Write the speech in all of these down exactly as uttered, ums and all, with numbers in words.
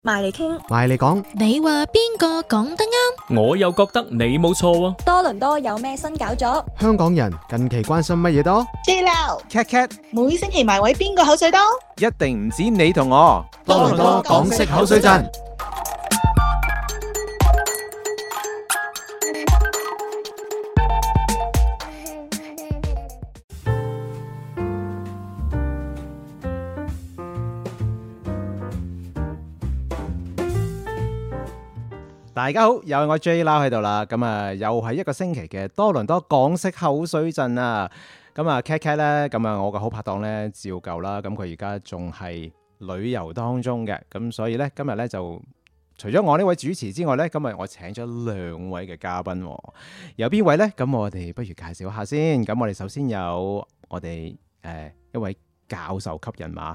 埋嚟傾， 埋嚟講， 你話邊個講得啱？ 我又覺得你冇錯喎。 多倫多有咩新搞作？ 香港人近期關心乜嘢多？ J Lau Cat Cat 每星期埋位邊個口水多？ 一定唔止你同我。 多倫多港式口水陣。大家好，又係我 J Lau 喺度啦，咁啊又係一個星期嘅多倫多港式口水陣啊，咁啊 Cat Cat 咧，咁啊我個好拍檔咧照舊啦，咁佢而家仲係旅遊當中嘅，咁所以咧今日咧就除咗我呢位主持之外咧，今日我請咗兩位嘅嘉賓，有邊位咧？咁我哋不如介紹下先，咁我哋首先有我哋誒、呃、一位教授級人馬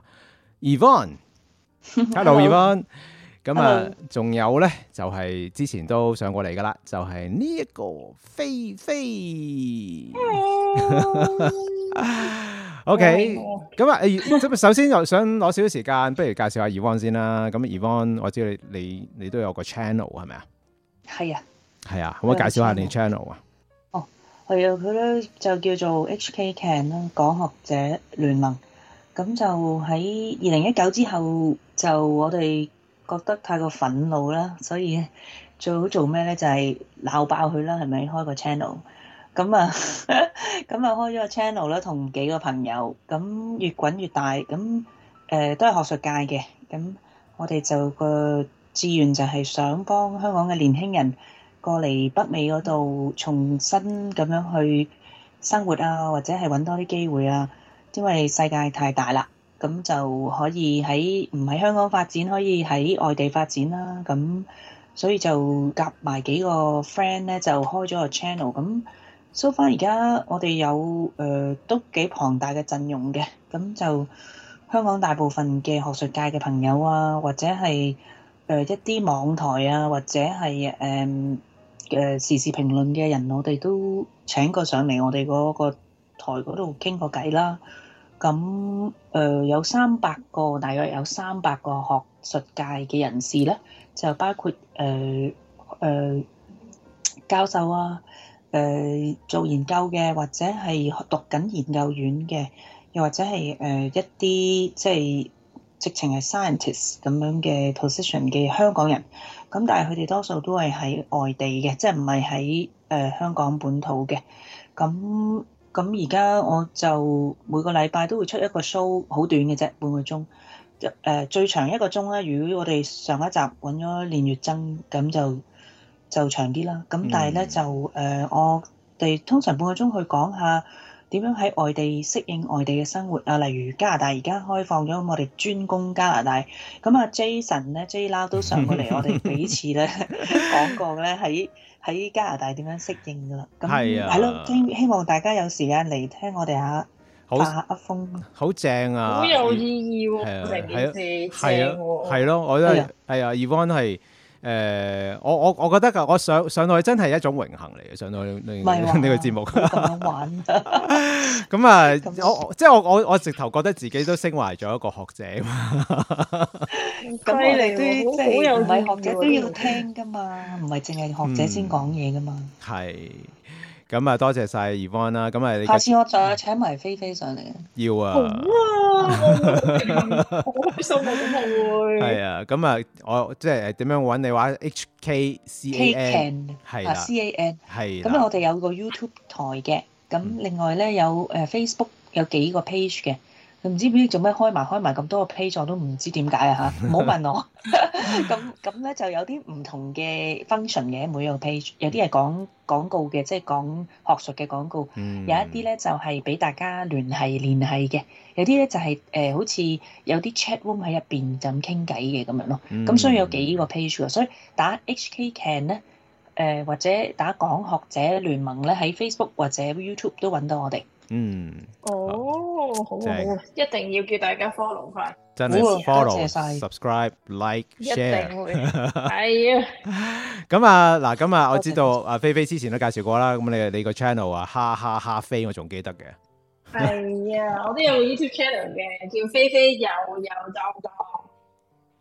Yvonne，Hello Yvonne。咁啊，仲有咧，就係、是、之前都上過嚟噶啦，就係呢一個菲菲。OK，咁啊，咁首先又想攞少少時間，不如介紹下 Yvonne 先啦。咁 Yvonne，我知道你你你都有個 channel 係咪啊？ 係啊， 係啊，可唔可以介紹下你 channel 啊？ 哦，係啊，佢咧就叫做 H K Can 啦，港學者聯盟。咁就喺二零一九之後，就我哋覺得太過憤怒啦，所以最好做咩咧？就係鬧爆佢啦，係咪？開個 channel，咁啊，咁啊開咗個 channel 啦，同幾個朋友，咁越滾越大，咁誒、呃、都係學術界嘅，咁我哋就個志願就係想幫香港嘅年輕人過嚟北美嗰度重新咁樣去生活啊，或者係揾多啲機會啊，因為世界太大啦。咁就可以喺唔喺香港發展，可以喺外地發展啦。咁所以就夾埋幾個 friend 咧，就開咗個 channel。咁 so far 而家我哋有誒、呃、都幾龐大嘅陣容嘅。咁就香港大部分嘅學術界嘅朋友啊，或者係誒、呃、一啲網台啊，或者係誒誒時事評論嘅人，我哋都請過上嚟我哋嗰個台嗰度傾過偈啦。咁誒、呃、有三百個，大約有三百個學術界嘅人士咧，就包括誒誒、呃呃、教授啊，誒、呃、做研究嘅，或者係讀緊研究院嘅，又或者係誒、呃、一啲即係直情係 scientist 咁樣嘅 position 嘅香港人。咁但係佢哋多數都係喺外地嘅，即係唔係喺誒香港本土嘅。咁咁而家我就每個禮拜都會出一個 show， 好短嘅啫，半個鐘。誒、呃、最長一個鐘咧，如果我哋上一集揾咗練月增，咁就就長啲啦。咁但係咧、嗯、就誒、呃，我哋通常半個鐘去講下點樣喺外地適應外地嘅生活啊。例如加拿大而家開放咗，我哋專攻加拿大。咁啊 Jason 咧 J Lau 都上過嚟，我哋幾次咧講過咧喺。喺加拿大點樣適應㗎啦？咁係咯，希希望大家有時間嚟聽我哋下發下噏風， 好正啊！ 好有意義喎，成件事係啊，係咯，我都係係啊 Yvonne 係誒，我我我覺得㗎，我上上到去真係一種榮幸嚟嘅，上到去呢呢個節目咁樣玩。 咁啊，我即係我我我直頭覺得自己都升華咗一個學者嘛。 咁我哋都即係唔係學者都要聽㗎嘛，唔係淨係學者先講嘢㗎嘛。 係、嗯。咁啊，多謝晒 Yvonne 啦。咁啊， 下次我再請埋菲菲上嚟。 要啊。 好啊，好開心啊！咁我會。 係啊，咁啊，我即係點樣揾你話 H K C A N 係啦 ，C A N 係。 咁我哋有個 YouTube 台嘅，咁另外咧有誒 Facebook 有幾個 page 嘅。唔知唔知做咩開埋開埋咁多個 page，我都唔知點解啊嚇！唔好問我。咁咁咧就有啲唔同嘅 function 嘅每個 page，有啲係講廣告嘅，即係講學術嘅廣告。嗯、有一啲咧就係、是、俾大家聯繫聯繫嘅，有啲咧就係、是、誒、呃、好似有啲 chat room 喺入邊就咁傾偈嘅咁樣咯。咁、嗯、所以有幾個 page 嘅，所以打 H K Can 咧誒或者打港學者聯盟咧喺 Facebook 或者 YouTube 都揾到我哋。 嗯， 哦，好啊，好啊，一定要叫大家 follow 佢， 真係 follow、subscribe、like、share， 一定會，係啊。 咁啊，嗱，咁啊，我知道阿菲菲之前都介紹過啦，咁你你個 channel 啊，哈哈哈菲，我仲記得嘅。 係啊，我都有個 YouTube channel 嘅，叫菲菲有有當當。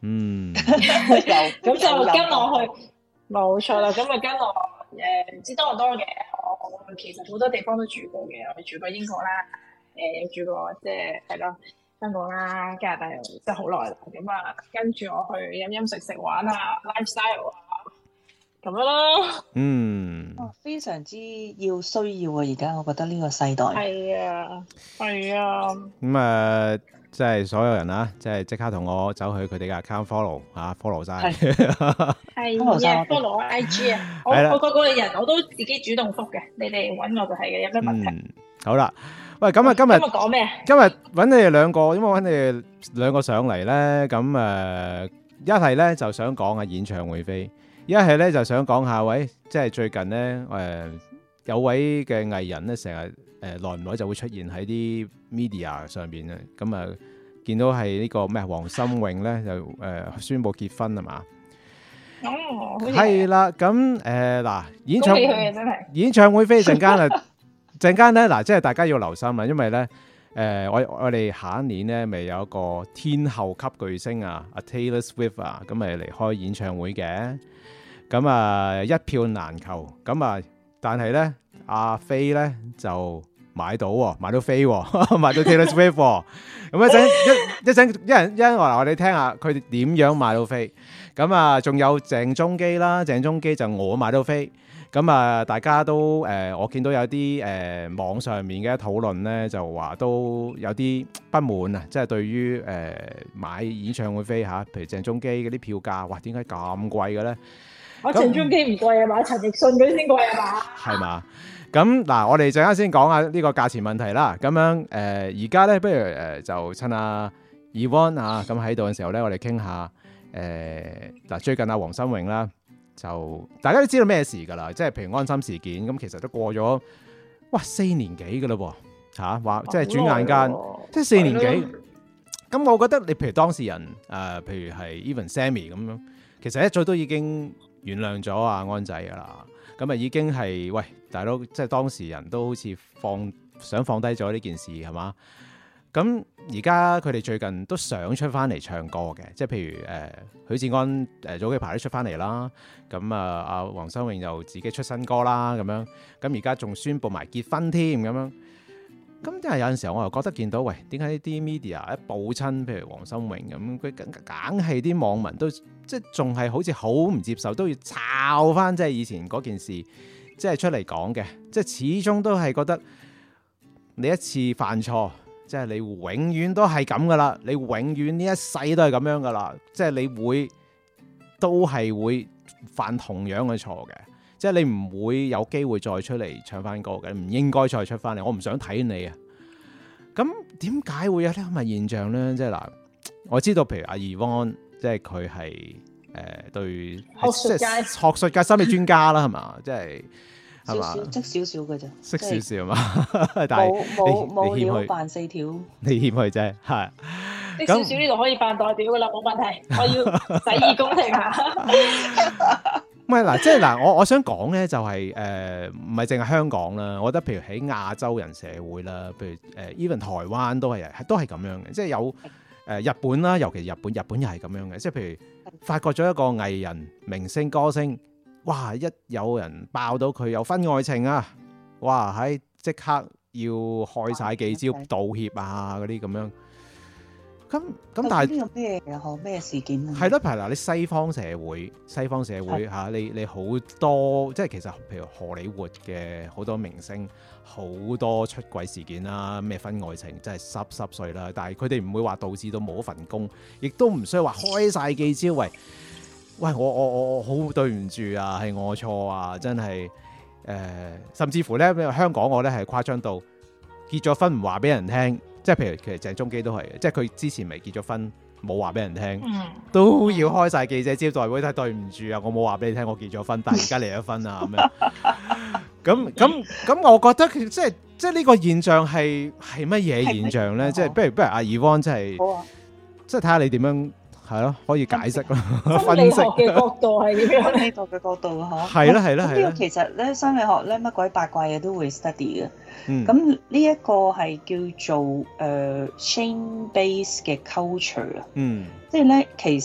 嗯， 有咁就跟我去，冇錯啦。咁啊跟我誒唔知多唔多嘅，我我其實好多地方都住過嘅，我住過英國啦，誒住過即係係咯香港啦、加拿大又即係好耐啦。咁啊跟住我去飲飲食食玩啊 lifestyle 啊咁樣咯。 嗯， 哦，非常之要需要啊！而家我覺得呢個世代係啊，係啊。 咁啊，即係所有人啊，即係即刻同我走去佢哋嘅 account follow 啊 follow 晒。 係啊 follow 我 I G 啊，我我個個人我都自己主動覆嘅，你哋揾我就係嘅，有咩問題？ 嗯，好啦，喂，咁啊今日今日講咩？ 今日揾你哋兩個，因為揾你哋兩個上嚟咧，咁誒一係咧就想講下演唱會飛。一係咧就想講下，喂，即係最近咧，誒、呃、有位嘅藝人咧，成日誒耐唔耐就會出現喺啲 media 上邊啊，咁啊見到係呢個咩黃心穎咧就誒、呃、宣布結婚係嘛？ 哦， 係啦，咁誒嗱演唱恭喜佢啊，真係演唱會飛陣間啊，陣間咧嗱，即係大家要留心啦，因為咧誒、呃、我我哋下一年咧咪有一個天后級巨星啊，阿 Taylor Swift 啊，咁咪嚟開演唱會嘅。咁啊一票難求，咁啊但係咧阿飛咧就買到喎，買到飛喎，買到 Taylor Swift 喎。咁一陣一一陣一人一人話我哋聽下佢哋點樣買到飛。咁啊仲有鄭中基啦，鄭中基就我買到飛。咁啊大家都誒、呃，我見到有啲誒、呃、網上面嘅討論咧，就話都有啲不滿啊，即係對於誒、呃、買演唱會飛嚇，譬如鄭中基嗰啲票價，哇點解咁貴嘅咧？ 我鄭中基唔貴啊嘛，陳奕迅嗰啲先貴啊嘛。 係嘛？咁嗱，我哋陣間先講下呢個價錢問題啦。咁樣誒，而家咧，不如誒、呃、就趁阿 Yvonne 啊咁喺度嘅時候咧，我哋傾下誒嗱，最近阿黃心穎啦，就大家都知道咩事㗎啦，即係譬如安心事件，咁其實都過咗哇四年幾㗎啦喎嚇，話即係轉眼間，即係四年幾。咁我覺得你譬如當事人誒、呃，譬如係 Even Sammy 咁樣，其實一早都已經原諒咗阿安仔噶啦，咁啊已經係喂大佬，即係當事人都好似放想放低咗呢件事係嘛？咁而家佢哋最近都想出翻嚟唱歌嘅，即係譬如誒、呃、許志安誒、呃、早幾排都出翻嚟啦，咁啊阿黃心穎又自己出新歌啦咁樣，咁而家仲宣布埋結婚添咁樣。咁即係有陣時候我又覺得見到，喂，點解呢啲 media 一報親，譬如黃心穎咁，佢梗梗係啲網民都即係仲係好似好唔接受，都要抄翻即係以前嗰件事，即係出嚟講嘅，即係始終都係覺得你一次犯錯，即係你永遠都係咁噶啦，你永遠呢一世都係咁樣噶啦，即係你會都係會犯同樣嘅錯嘅。即係你唔會有機會再出嚟唱翻歌嘅，唔應該再出翻嚟。我唔想睇你啊！咁點解會有啲咁嘅現象咧？即係嗱，我知道譬如阿 Yvonne，即係佢係誒對學術界學術界心理專家啦，係嘛？即係係嘛？ 識少少嘅啫， 識少少嘛？但係冇冇你冇料扮四條， 你謙虛啫，係。 識少少呢度可以扮代表噶啦，冇問題。我要洗耳恭聽下。 唔係嗱，即係嗱，我我想講咧就係誒，唔係淨係香港啦，我覺得譬如喺亞洲人社會啦，譬如誒 even 台灣都係都係咁樣嘅，即係有誒、呃、日本啦，尤其日本，日本又係咁樣嘅，即係譬如發覺咗一個藝人、明星、歌星，哇！一有人爆到佢有婚外情啊，哇！喺即刻要開晒記招道歉啊嗰啲咁樣。咁咁但係呢個咩又咩事件啊？ 係咯，係嗱，你西方社會，西方社會嚇，你你好多即係其實譬如荷里活嘅好多明星，好多出軌事件啦，咩婚外情，真係濕濕碎啦。但係佢哋唔會話導致到冇一份工，亦都唔需要話開晒記招，喂喂，我我我我好對唔住啊，係我錯啊，真係誒、呃，甚至乎咧，香港我咧係誇張到結咗婚唔話俾人聽。即係譬如其實鄭中基都係嘅，即係佢之前未結咗婚，冇話俾人聽， 嗯、 都要開晒記者招待會，睇對唔住啊，我冇話俾你聽我結咗婚，但係而家離咗婚啊咁樣。咁咁咁，我覺得即係即係呢個現象係係乜嘢現象咧？即係不如不如阿 Yvonne 即係即係睇下你點樣係咯，可以解釋咯，分析嘅角度係點樣？ 呢個嘅角度嗬， 係啦係啦係啦。 其實咧心理學咧乜鬼八卦嘢都會 study 嘅。咁呢一個係叫做誒、呃、shame base 嘅 culture 啊， 嗯， 即係咧其實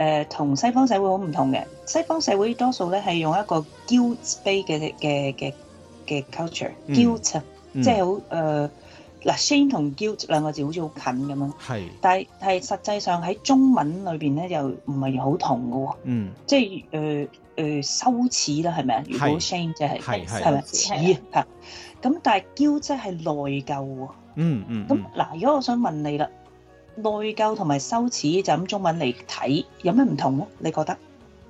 誒同西方社會好唔同嘅。西方社會多數咧係用一個 guilt-based 嘅嘅嘅嘅 culture，guilt 啊，即係好誒嗱 shame 同 guilt 兩個字好似好近咁樣。 係， 但係係實際上喺中文裏邊咧又唔係好同嘅喎。嗯，即係誒誒羞恥啦，係咪啊？如果 shame 即係係係咪恥啊？咁但係 guilt 即係內疚喎。嗯嗯。咁嗱，如果我想問你啦。內疚同埋羞恥就咁中文嚟睇，有咩唔同咧？你覺得？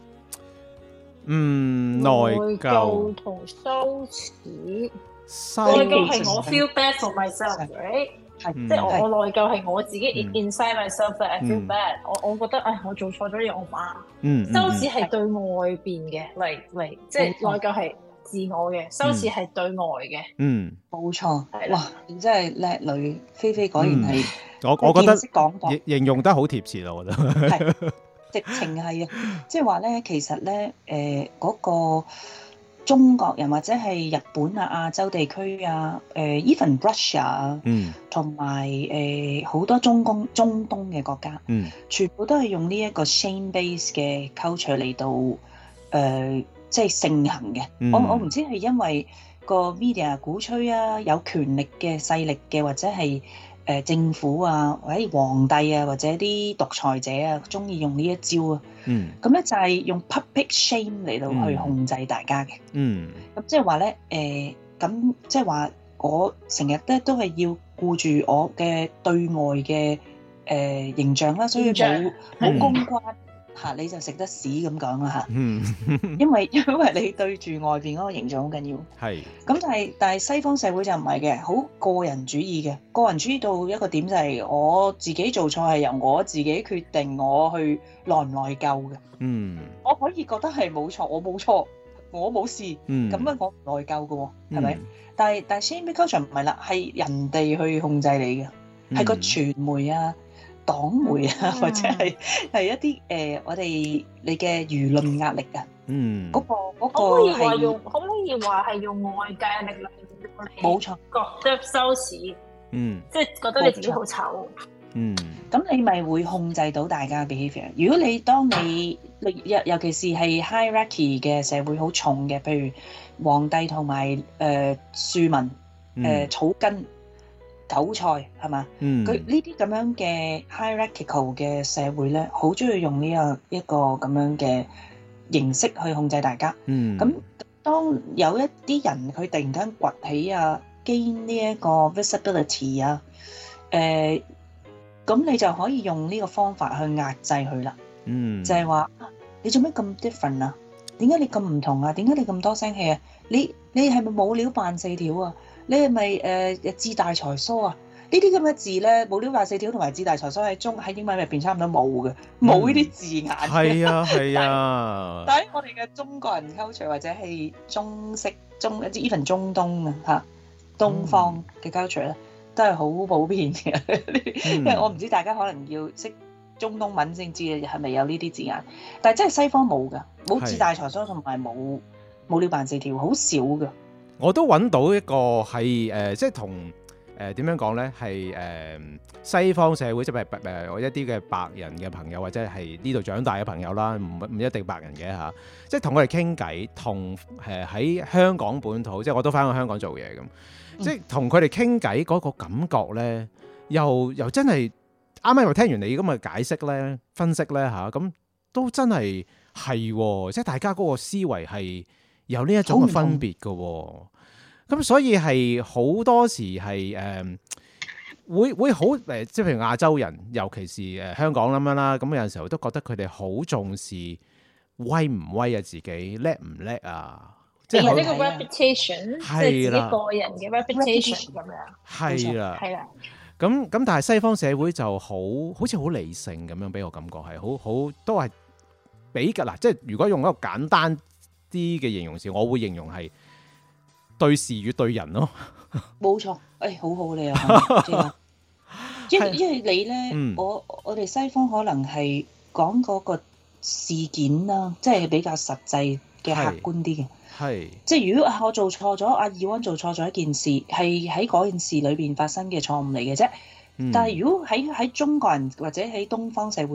嗯，內疚同羞恥，內疚係我 feel bad for myself，right？係即係我我內疚係我自己 inside myself that I feel bad。我我覺得唉，我做錯咗嘢，我媽。嗯。羞恥係對外邊嘅，嚟嚟即係內疚係自我嘅，羞恥係對外嘅。嗯，冇錯。哇，你真係叻女，菲菲果然係。 我我覺得形容得好貼切咯，我覺得係直情係啊！即係話咧，其實咧，誒、呃、嗰、嗰個中國人或者係日本啊、亞洲地區啊、誒、呃、even Russia 啊，嗯，同埋誒好多中東中東嘅國家，嗯，全部都係用呢一個 shame base 嘅 culture 嚟到誒、呃，即係盛行嘅。嗯、我我唔知係因為個 media 鼓吹啊，有權力嘅勢力嘅，或者係。誒、呃、政府啊，或者皇帝啊，或者啲獨裁者啊，中意用呢一招啊。嗯。咁咧就係用 public shame 嚟到去控制大家嘅。嗯。咁即係話咧，誒咁即係話我成日咧都係要顧住我嘅對外嘅誒、呃、形象啦，所以冇冇公關嚇、啊、你就食得屎咁講啦嚇。嗯。因為因為你對住外邊嗰個形象好緊要。係。咁但係但係西方社會就唔係嘅，好個人主義嘅。個人主義到一個點就係我自己做錯係由我自己決定，我去內唔內疚嘅。嗯。我可以覺得係冇錯，我冇錯，我冇事。嗯。咁樣我唔內疚嘅喎，係咪？嗯、但係但係 shame culture 唔係啦，係人哋去控制你嘅，係、嗯、個傳媒啊。黨媒啊，或者係係一啲誒、呃，我哋你嘅輿論壓力啊，嗯，嗰、嗰個嗰、嗰個可唔可以話用？可唔可以話係用外界嘅力量令你冇錯覺得羞恥？嗯，即係覺得你自己好醜。嗯，咁你咪會控制到大家嘅 behaviour。如果你當你尤尤其是係 hierarchy 嘅社會好重嘅，譬如皇帝同埋誒庶民誒、呃、草根。韭菜係嘛？佢呢啲咁樣嘅 hierarchical 嘅社會咧，好中意用呢個一個咁樣嘅形式去控制大家。嗯，咁當有一啲人佢突然間崛起啊，gain呢一個 visibility 啊，誒、呃，咁你就可以用呢個方法去壓制佢啦。嗯，就係話你做咩咁 different 啊？點解你咁唔同啊？點解你咁多聲氣啊？你你係咪冇料扮四條啊？你係咪誒志大才疏啊？呢啲咁嘅字咧，冇料扮四條同埋志大才疏喺中喺英文入邊差唔多冇嘅，冇呢啲字眼。係啊係啊。但喺我哋嘅中國人 culture 或者係中式中一啲 even 中東啊嚇東方嘅 culture 咧，都係好普遍嘅。嗯、因為我唔知大家可能要識中東文先知係咪有呢啲字眼，但係真係西方冇㗎，冇志大才疏同埋冇冇料扮四條，好少㗎。 我都揾到一個係誒、呃，即係同誒點樣講咧，係誒、呃、西方社會即係誒我一啲嘅白人嘅朋友，或者係呢度長大嘅朋友啦，唔唔一定白人嘅嚇、啊，即係同佢哋傾偈，同誒喺香港本土，即係我都翻去香港做嘢咁，即係同佢哋傾偈嗰個感覺咧，又又真係啱啱又聽完你咁嘅解釋咧、分析咧嚇，咁、啊、都真係係，即係大家嗰個思維係有呢一種嘅分別嘅喎，咁所以係好多時係誒、呃、會會好誒，即係譬如亞洲人，尤其是誒、呃、香港咁樣啦，咁有陣時候都覺得佢哋好重視威唔威啊，自己叻唔叻啊，即係呢個 reputation， 即係自己個人嘅 reputation 咁樣。 係啦， 係啦。 咁咁，但係西方社會就好好似好理性咁樣，俾我感覺係好好都係比較嗱，即係如果用一個簡單啲嘅形容詞，我會形容係對事與對人咯。冇錯，誒、哎，好好你啊，因為因為你咧、嗯，我我哋西方可能係講嗰個事件啦，即係比較實際嘅客觀啲嘅。係，即係如果我做錯咗，阿爾安做錯咗一件事，係喺嗰件事裏邊發生嘅錯誤嚟嘅啫。但係如果喺喺中國人或者喺東方社會咧，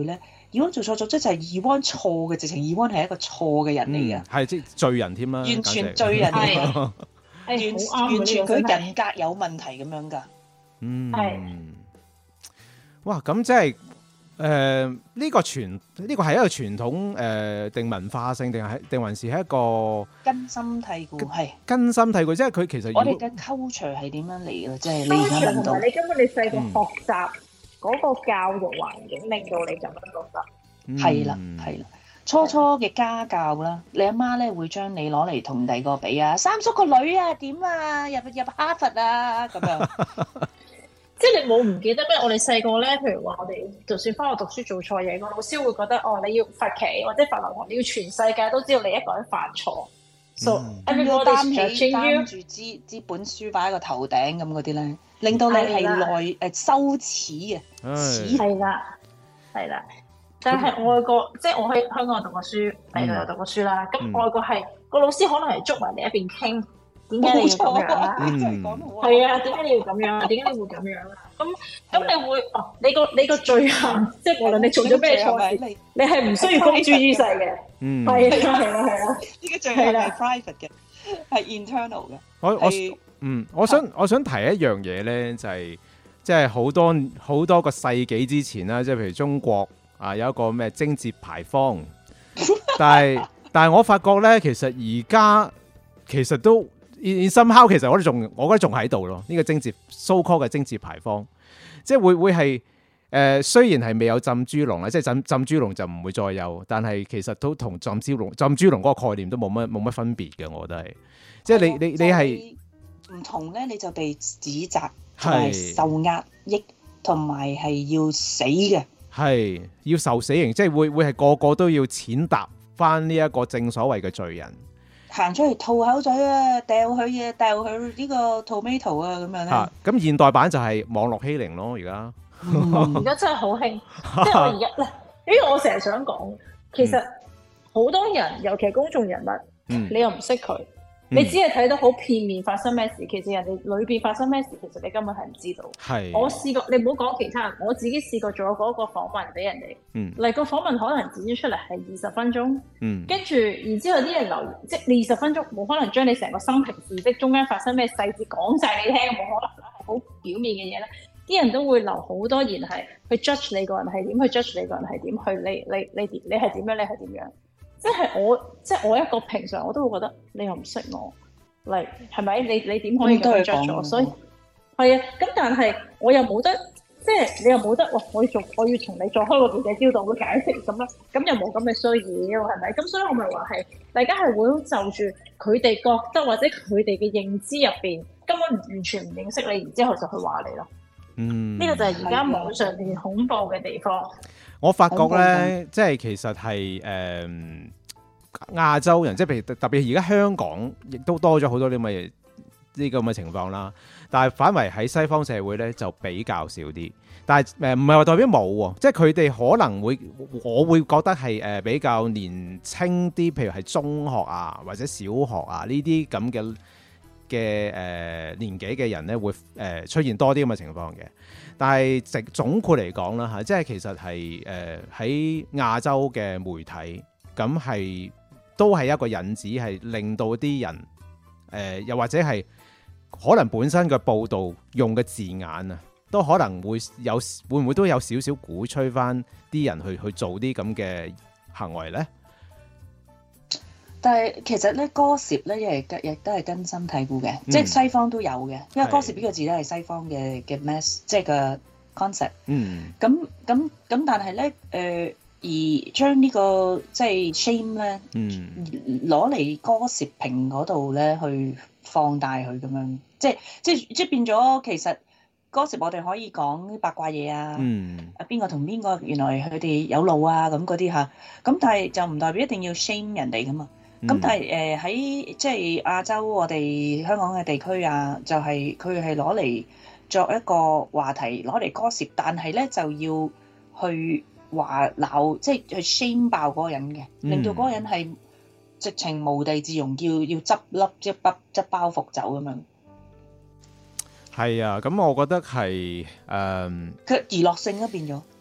Ewan 做錯咗，即係 Ewan 錯嘅，直情 Ewan 係一個錯嘅人嚟嘅， 係即係罪人添啦， 完全罪人嚟嘅，完完完全佢人格有問題咁樣㗎。 嗯， 係哇！咁即係誒呢個傳呢個係一個傳統誒定文化性定係定還是係一個根深蒂固係根深蒂固，即係佢其實我哋嘅 culture 係點樣嚟嘅？即係你而家同問到埋你根本你細個學習嗰個教育環境，令到你咁樣覺得。 係啦係啦，初初嘅家教啦，你阿媽咧會將你攞嚟同第二個比啊，三叔個女啊點啊，入入哈佛啊咁樣。 即係你冇唔記得咩？我哋細個咧，譬如話我哋就算翻學讀書做錯嘢，個老師會覺得哦，你要罰企或者罰留堂，你要全世界都知道你一個人犯錯。So 要 everybody's 擔起 judging you 擔住支支本書擺喺個頭頂咁嗰啲咧，令到你係內誒羞恥嘅，恥係啦，係啦。但係外國，即係我喺香港讀過書，喺度又讀過書啦。咁外國係個老師可能係捉埋你一邊傾。點解你要咁樣啊？係啊，點解你要咁樣啊？點解你會咁樣啊？咁咁你會哦，你個你個罪行，即係無論你做咗咩錯事，你係唔需要公諸於世嘅。嗯，係啊，係啊，係啊， 呢個罪行係 private 嘅，係 internal 嘅。 我我嗯，我想我想提一樣嘢咧，就係即係好多好多個世紀之前啦，即係譬如中國啊有一個咩貞節牌坊，但係但係我發覺咧，其實而家其實都。in somehow 其實我哋仲，我覺得仲喺度咯。呢、這個貞節 so call 嘅貞節牌坊，即係會會係誒、呃，雖然係未有浸豬籠啦，即係浸浸豬籠就唔會再有，但係其實都同浸豬籠浸豬籠嗰個概念都冇乜冇乜分別嘅，我覺得係。即係你你你係唔同咧，你就被指責係受壓抑，同埋係要死嘅， 係要受死刑，即係會會係個個都要踐踏翻呢一個正所謂嘅罪人。 行出嚟吐口水啊，掉佢嘢，掉佢呢個 tomato 啊，咁樣咧。 啊，咁現代版就係網絡欺凌咯，而家。 而家真係好興，即係我而家咧，因為我成日想講，其實好多人，尤其係公眾人物，嗯、你又唔識佢。你只係睇到好片面發生咩事，其實人哋裏邊發生咩事，其實你根本係唔知道。係。我試過，你唔好講其他人，我自己試過做嗰個訪問俾人哋。嗯。嚟個訪問可能剪咗出嚟係二十分鐘。嗯。跟住，然之後啲人留言，即係二十分鐘，冇可能將你成個生平事蹟中間發生咩細節講晒你聽，冇可能啦，係好表面嘅嘢咧。啲人都會留好多言係去 judge 你個人係點，去 judge 你個人係點，去你你你你係點樣，你係點樣。即係我，即係我一個平常，我都會覺得你又唔識我，嚟係咪？你你點可以咁樣 judge 我？所以係啊，咁但係我又冇得，即係你又冇得，哇！我要做，我要同你再開個記者招待會解釋咁啦，咁又冇咁嘅需要，係咪？咁所以我咪話係大家係會就住佢哋覺得或者佢哋嘅認知入邊根本完全唔認識你，然之後就去話你咯。嗯，呢個就係而家網上邊恐怖嘅地方。 我發覺咧，即係其實係誒、呃、亞洲人，即係譬如特別而家香港，亦都多咗好多啲咁嘅呢個咁嘅情況啦。但係反為喺西方社會咧，就比較少啲。但係誒唔係話代表冇喎，即係佢哋可能會，我會覺得係誒比較年青啲，譬如係中學啊或者小學啊呢啲咁嘅嘅誒年紀嘅人咧，會誒、呃、出現多啲咁嘅情況嘅。但係直總括嚟講啦嚇，即係其實係誒喺亞洲嘅媒體，咁係都係一個引子，係令到啲人誒、呃，又或者係可能本身嘅報導用嘅字眼啊，都可能會有會唔會都有少少鼓吹翻啲人去去做啲咁嘅行為咧？ 但係其實咧，gossip咧亦亦都係根深蒂固嘅，嗯、即係西方都有嘅，因為 gossip 呢個字咧係西方嘅嘅 mass， 即係個 concept。嗯。咁咁咁，但係咧誒，而將呢、這個即係 shame 咧，攞嚟 gossiping 嗰度咧去放大佢咁樣，即係即係即係變咗其實 gossip 我哋可以講八卦嘢啊，嗯、啊邊個同邊個原來佢哋有路啊咁嗰啲嚇，咁但係就唔代表一定要 shame 人哋噶嘛。咁、嗯、但係誒喺即係亞洲我哋香港嘅地區啊，就係佢係攞嚟作一個話題，攞嚟 gossip，但係咧就要去話鬧，即係去 shame 爆嗰個人嘅，令到嗰個人係直情無地自容，要要執笠即係包執包袱走咁樣。係啊，咁我覺得係誒， 佢娛樂性都變咗。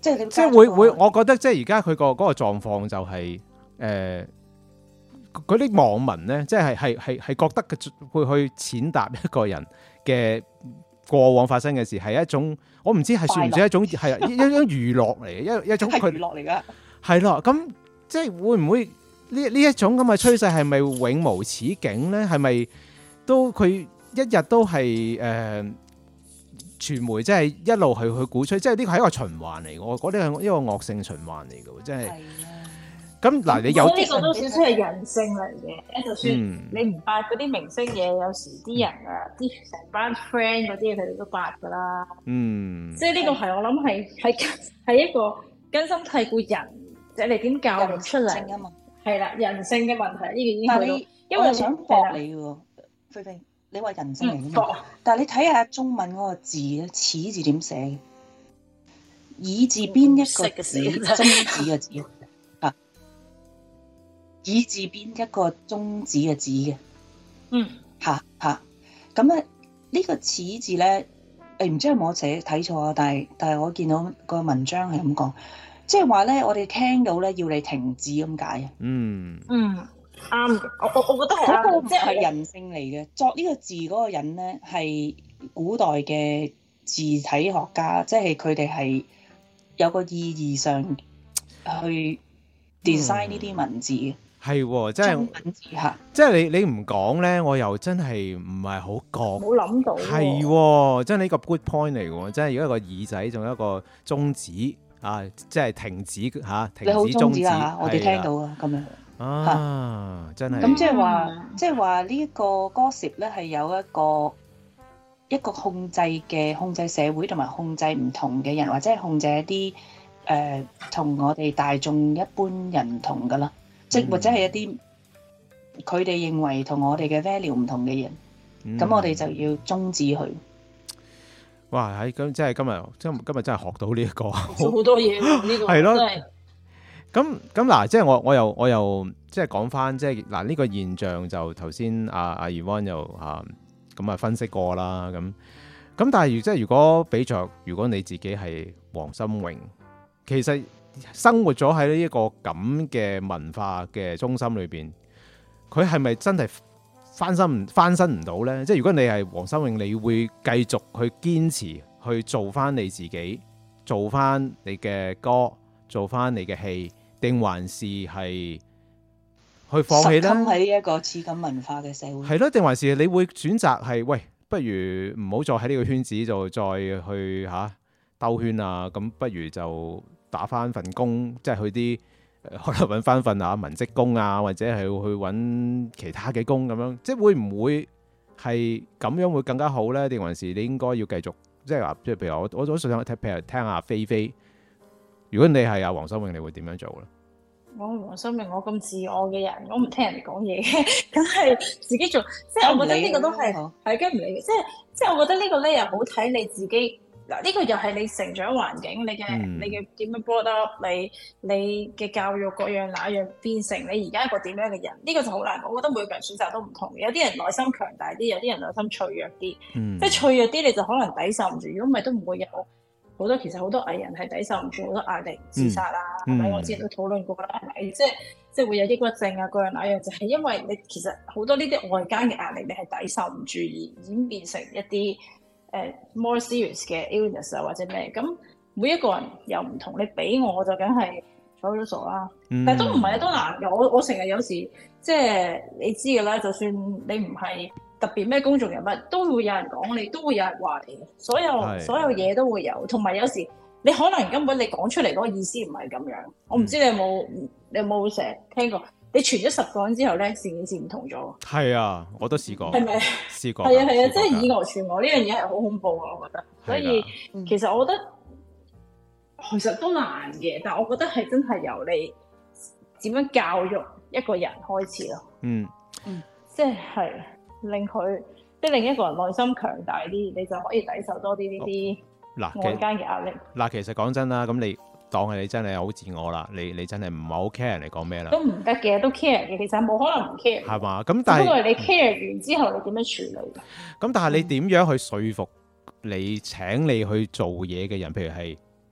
即係你即係會會，我覺得即係而家佢個嗰個狀況就係誒嗰啲網民咧，即係係係係覺得佢會去踐踏一個人嘅過往發生嘅事，係一種我唔知係算唔算一種係一一種娛樂嚟嘅，一一種佢娛樂嚟㗎。 係咯，咁即係會唔會呢呢一種咁嘅趨勢係咪永無止境咧？係咪都佢一日都係誒？呃傳媒即係一路係去鼓吹，即係呢個係一個循環嚟嘅，我覺得係一個惡性循環嚟嘅，即係。咁嗱，你有呢個都少少係人性嚟嘅，就算你唔八嗰啲明星嘢，有時啲人啊，啲成班 friend 嗰啲嘢，佢哋都八㗎啦。嗯。即係呢個係我諗係係係一個根深蒂固人，即係你點教育出嚟啊嘛？係啦，人性嘅問題呢個已經去到，因為想駁你喎，菲菲。你話人性嚟嘅嘛？但係你睇下中文嗰個字咧，始字點寫？以字邊一個字，中指嘅字啊？以字邊一個中指嘅字嘅。嗯。嚇嚇，咁咧呢個始字咧，誒唔知有冇寫睇錯啊？但係但係我見到個文章係咁講，即係話咧，我哋聽到咧要你停止咁解啊。嗯。嗯。啱嘅，我我我覺得係嗰個即係人性嚟嘅。作呢個字嗰個人咧，係古代嘅字體學家，即係佢哋係有個意義上去 design 呢啲文字嘅。係、嗯，即係文字嚇，即係你你唔講咧，我又真係唔係好覺。冇諗到。係，真係呢個 good point 嚟嘅，真係有一個耳仔，仲有一個中指啊，即係停止嚇、啊，停止中指啊！我哋聽到啊，咁樣。啊！真係咁即係話，即係話呢一個 gossip 咧，係有一個一個控制嘅控制社會同埋控制唔同嘅人，或者係控制一啲誒同我哋大眾一般人唔同噶啦，即係或者係一啲佢哋認為同我哋嘅 value 唔同嘅人，咁、嗯、我哋就要終止佢。哇！喺咁即係今日，今今日真係學到呢、這、一個好多嘢喎，呢個係咯。咁咁嗱，即係我我又我又即係講翻，即係嗱呢個現象就頭先阿阿 Yvonne 又啊咁啊分析過啦，咁咁但係即係如果比著，如果你自己係黃心穎，其實生活咗喺呢一個咁嘅文化嘅中心裏邊，佢係咪真係翻身唔翻身唔到咧？即係如果你係黃心穎，你會繼續去堅持去做翻你自己，做翻你嘅歌，做翻你嘅戲。定還是係去放棄咧？實喺呢一個次緊文化嘅社會係咯，定還是你會選擇係喂，不如唔好再喺呢個圈子就再去嚇兜圈啊！咁不如就打翻份工，即係去啲可能揾翻份啊文職工啊，或者係去揾其他嘅工咁樣，即係會唔會係咁樣會更加好咧？定還是你應該要繼續即係話，即係譬如我我都想聽，譬如聽下菲菲。如果你係阿黃心穎，你會點樣做咧？我黃心穎，我咁自我嘅人，我唔聽人哋講嘢嘅，梗係自己做。即係我覺得呢個都係係跟唔理嘅。即係即係我覺得呢個咧又好睇你自己嗱。呢個又係你成長環境，你嘅、嗯、你嘅點樣 brought up，你你嘅教育各樣那樣變成你而家一個點樣嘅人。呢、呢個就好難講。我覺得每個人選擇都唔同嘅。有啲人內心強大啲，有啲人內心脆弱啲。嗯、即係脆弱啲，你就可能抵受唔住。如果唔係，都唔會有。好多其實好多藝人係抵受唔住好多壓力自殺啦，係、嗯、咪？我之前都討論過啦，係咪？即係即係會有抑鬱症啊，各樣那樣，就係、是、因為你其實好多呢啲外間嘅壓力，你係抵受唔住而演變成一啲誒、uh, more serious 嘅 illness 啊，或者咩？咁每一個人又唔同，你俾我就梗係睬咗傻啦。嗯、但係都唔係都難嘅。我我成日有時即係你知㗎啦，就算你唔係特別咩公眾人物，都會有人講你，都會有人話你，所有所有嘢都會有。同埋有，有時你可能根本你講出嚟嗰個意思唔係咁樣。我唔知你有冇、嗯、你有冇成日聽過？你傳咗十個人之後咧，成件事唔同咗。係啊，我都試過。係咪？試過。係啊係啊，即係以訛傳訛呢樣嘢係好恐怖啊！我覺得。所以其實我覺得其實都難嘅，但係我覺得係真係由你點樣教育一個人開始咯。嗯嗯，即係。令佢即係令一個人內心強大啲，你就可以抵受多啲呢啲外間嘅壓力。嗱，其實講真啦，咁你當係你真係好自我啦，你你真係唔係好 care 人哋講咩啦？都唔得嘅，都 care 嘅。其實冇可能唔 care。係嘛？咁但係不過你 care 完之後，你點樣處理？咁但係你點樣去說服你請你去做嘢嘅人？譬如係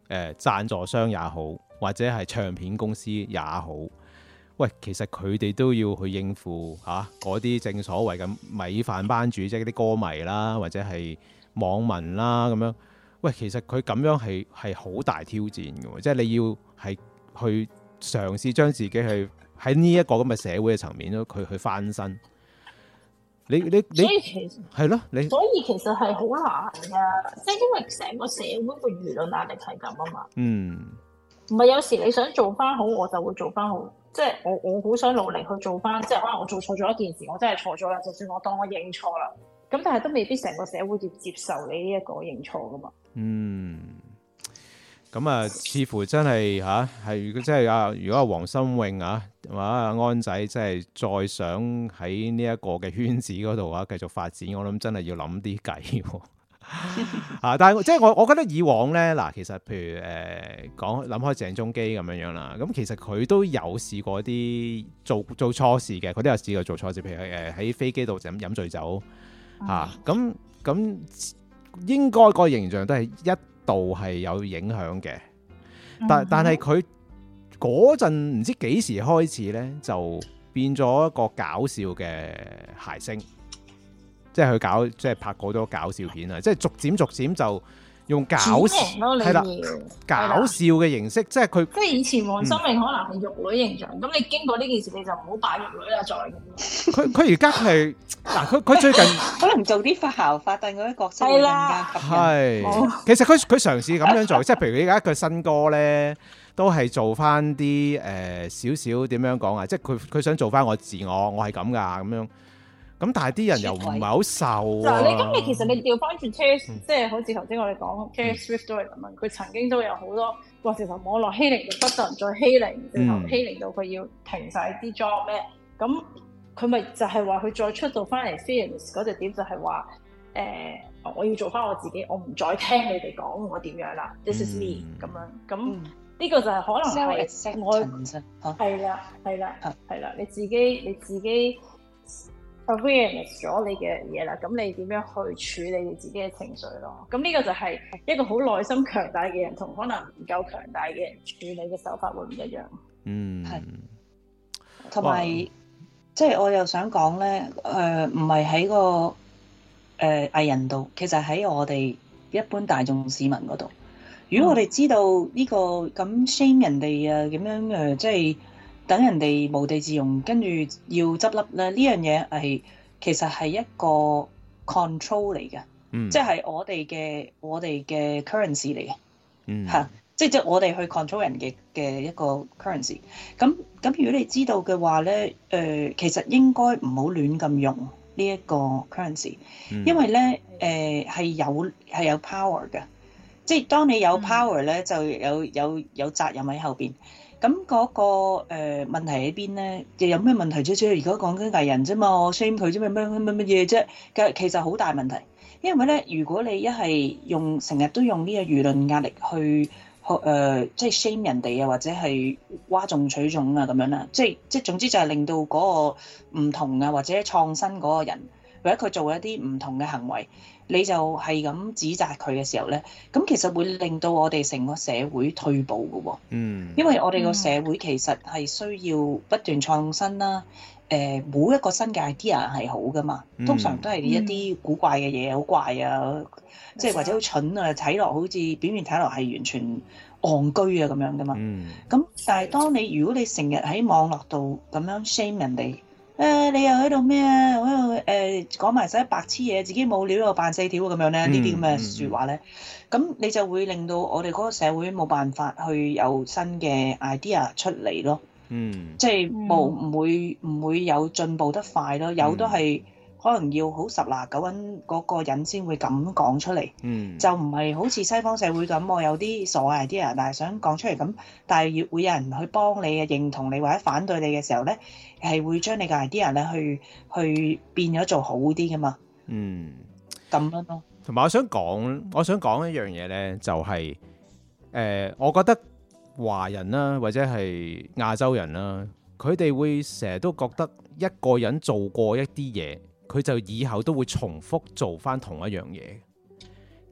誒贊助商也好，或者係唱片公司也好，喂，其實佢哋都要去應付嚇嗰啲正所謂嘅米飯班主，即係啲歌迷啦，或者係網民啦咁樣。喂，其實佢咁樣係係好大挑戰嘅喎，即係你要係去嘗試將自己去喺呢一個咁嘅社會嘅層面咯，佢去翻身。你你你， 所以其實係咯，你所以其實係好難㗎，即係因為成個社會個輿論壓力係咁啊嘛。 嗯， 唔係有時你想做翻好，我就會做翻好。即係我我好想努力去做翻，即係可能我做錯咗一件事，我真係錯咗啦。就算我當我認錯啦，咁但係都未必成個社會要接受你呢一個認錯噶嘛。 嗯。咁啊，似乎真係嚇係，如果真係啊，如果阿黃心穎啊，或者阿安仔真係再想喺呢一個嘅圈子嗰度啊繼續發展，我諗真係要諗啲計喎。啊，但係即係我我覺得以往咧嗱，其實譬如誒講諗開鄭中基咁樣樣啦，咁其實佢都有試過啲做做錯事嘅，佢都有試過做錯事，譬如誒喺飛機度就飲醉酒嚇，咁咁應該個形象都係一度係有影響嘅，但但係佢嗰陣唔知幾時開始咧，就變咗一個搞笑嘅諧星，即係佢搞即係拍過多搞笑片啊，即係逐漸逐漸就用搞笑係啦，搞笑嘅形式，即係佢即係以前黃心穎可能係玉女形象，咁、嗯、你經過呢件事你就唔好擺玉女啦，再咁。佢佢而家係嗱，佢佢最近可能做啲發姣發癲嗰啲角色會更加吸引。 係，其實佢佢嘗試咁樣做，即係譬如而家佢新歌咧，都係做翻啲誒少少點樣講啊，即係佢佢想做翻我自我，我係咁噶咁樣。咁但係啲人又唔係好受嗱、啊， 你咁你其實你調翻轉 Taylor，即係好似頭先我哋講 Taylor Swift 都係咁樣，佢曾經都有好多話直頭網絡欺凌，就不得人再欺凌，直頭欺凌到佢要停晒啲 job 咩？咁佢咪就係話佢再出到翻嚟 Fearless 嗰隻點就係話誒，我要做翻我自己，我唔再聽你哋講我點樣啦、嗯、，This is me 咁樣。咁呢、嗯、個就係可能係我係啦係啦係啦，你自己你自己。awareness 咗你嘅嘢啦，咁你點樣去處理你自己嘅情緒咯？咁呢個就係一個好內心強大嘅人，同可能唔夠強大嘅人處理嘅手法會唔一樣。 嗯， 係。同埋，即係我又想講咧，誒唔係喺個誒、呃、藝人度，其實喺我哋一般大眾市民嗰度。如果我哋知道呢、呢個咁 shame 人哋啊，咁樣誒、呃，即係。等人哋無地自容，跟住要執笠咧，呢樣嘢係其實係一個 control 嚟嘅、嗯，即係我哋嘅我哋嘅 currency 嚟嘅，嚇、嗯，即係即係我哋去 control 人嘅嘅一個 currency。咁咁如果你知道嘅話咧，誒、呃、其實應該唔好亂咁用呢一個 currency，、嗯、因為咧誒係有係有 power 嘅，即係當你有 power 咧、嗯，就有有有責任喺後邊。咁嗰、那個誒、呃、問題喺邊咧？又有咩問題啫？即係而家講緊藝人啫嘛，我 shame 佢啫嘛，乜乜乜乜嘢啫？嘅其實好大問題，因為咧，如果你一係用成日都用呢個輿論壓力去學誒，即係 shame 人哋啊，或者係嘩眾取寵啊咁樣啦，即係即係總之就係令到嗰個唔同啊，或者創新嗰個人，或者佢做一啲唔同嘅行為。你就係咁指責佢嘅時候咧，咁其實會令到我哋成個社會退步嘅喎。嗯，因為我哋個社會其實係需要不斷創新啦。誒、呃，每一個新嘅 idea 係好噶嘛，通常都係一啲古怪嘅嘢，好怪啊，即、嗯、係或者好蠢啊，睇落好似表面睇落係完全戇居啊咁樣噶嘛。嗯，咁但係當你如果你成日喺網絡度咁樣 shame 人哋。誒、呃，你又喺度咩啊？喺度誒講埋晒白痴嘢，自己冇料又扮四條咁樣咧，呢啲咁嘅説話咧，咁你就會令到我哋嗰個社會冇辦法去有新嘅 idea 出嚟咯。嗯，即係冇唔會唔會有進步得快咯，有都係可能要好十拿九穩嗰個人先會咁講出嚟。嗯，就唔係好似西方社會咁，我有啲傻 idea，但係想講出嚟咁，但係要會有人去幫你嘅，認同你或者反對你嘅時候咧。係會將你嘅 idea 咧去去變咗做好啲噶嘛？嗯，咁樣咯。 同埋我想講，我想講一樣嘢咧，就係、是、誒、呃，我覺得華人啦，或者係亞洲人啦，佢哋會成日都覺得一個人做過一啲嘢，佢就以後都會重複做翻同一樣嘢。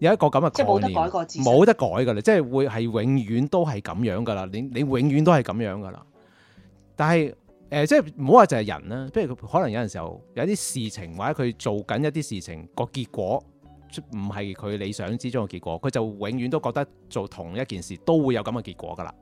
有一個咁嘅概念， 即係冇得改過自身， 冇得改㗎啦，即係會係永遠都係咁樣㗎啦。你你永遠都係咁樣㗎啦。但係誒、呃，即係唔好話就係人啦，即係可能有陣時候有啲事情或者佢做緊一啲事情個結果唔係佢理想之中嘅結果，佢就永遠都覺得做同一件事都會有咁嘅結果㗎啦。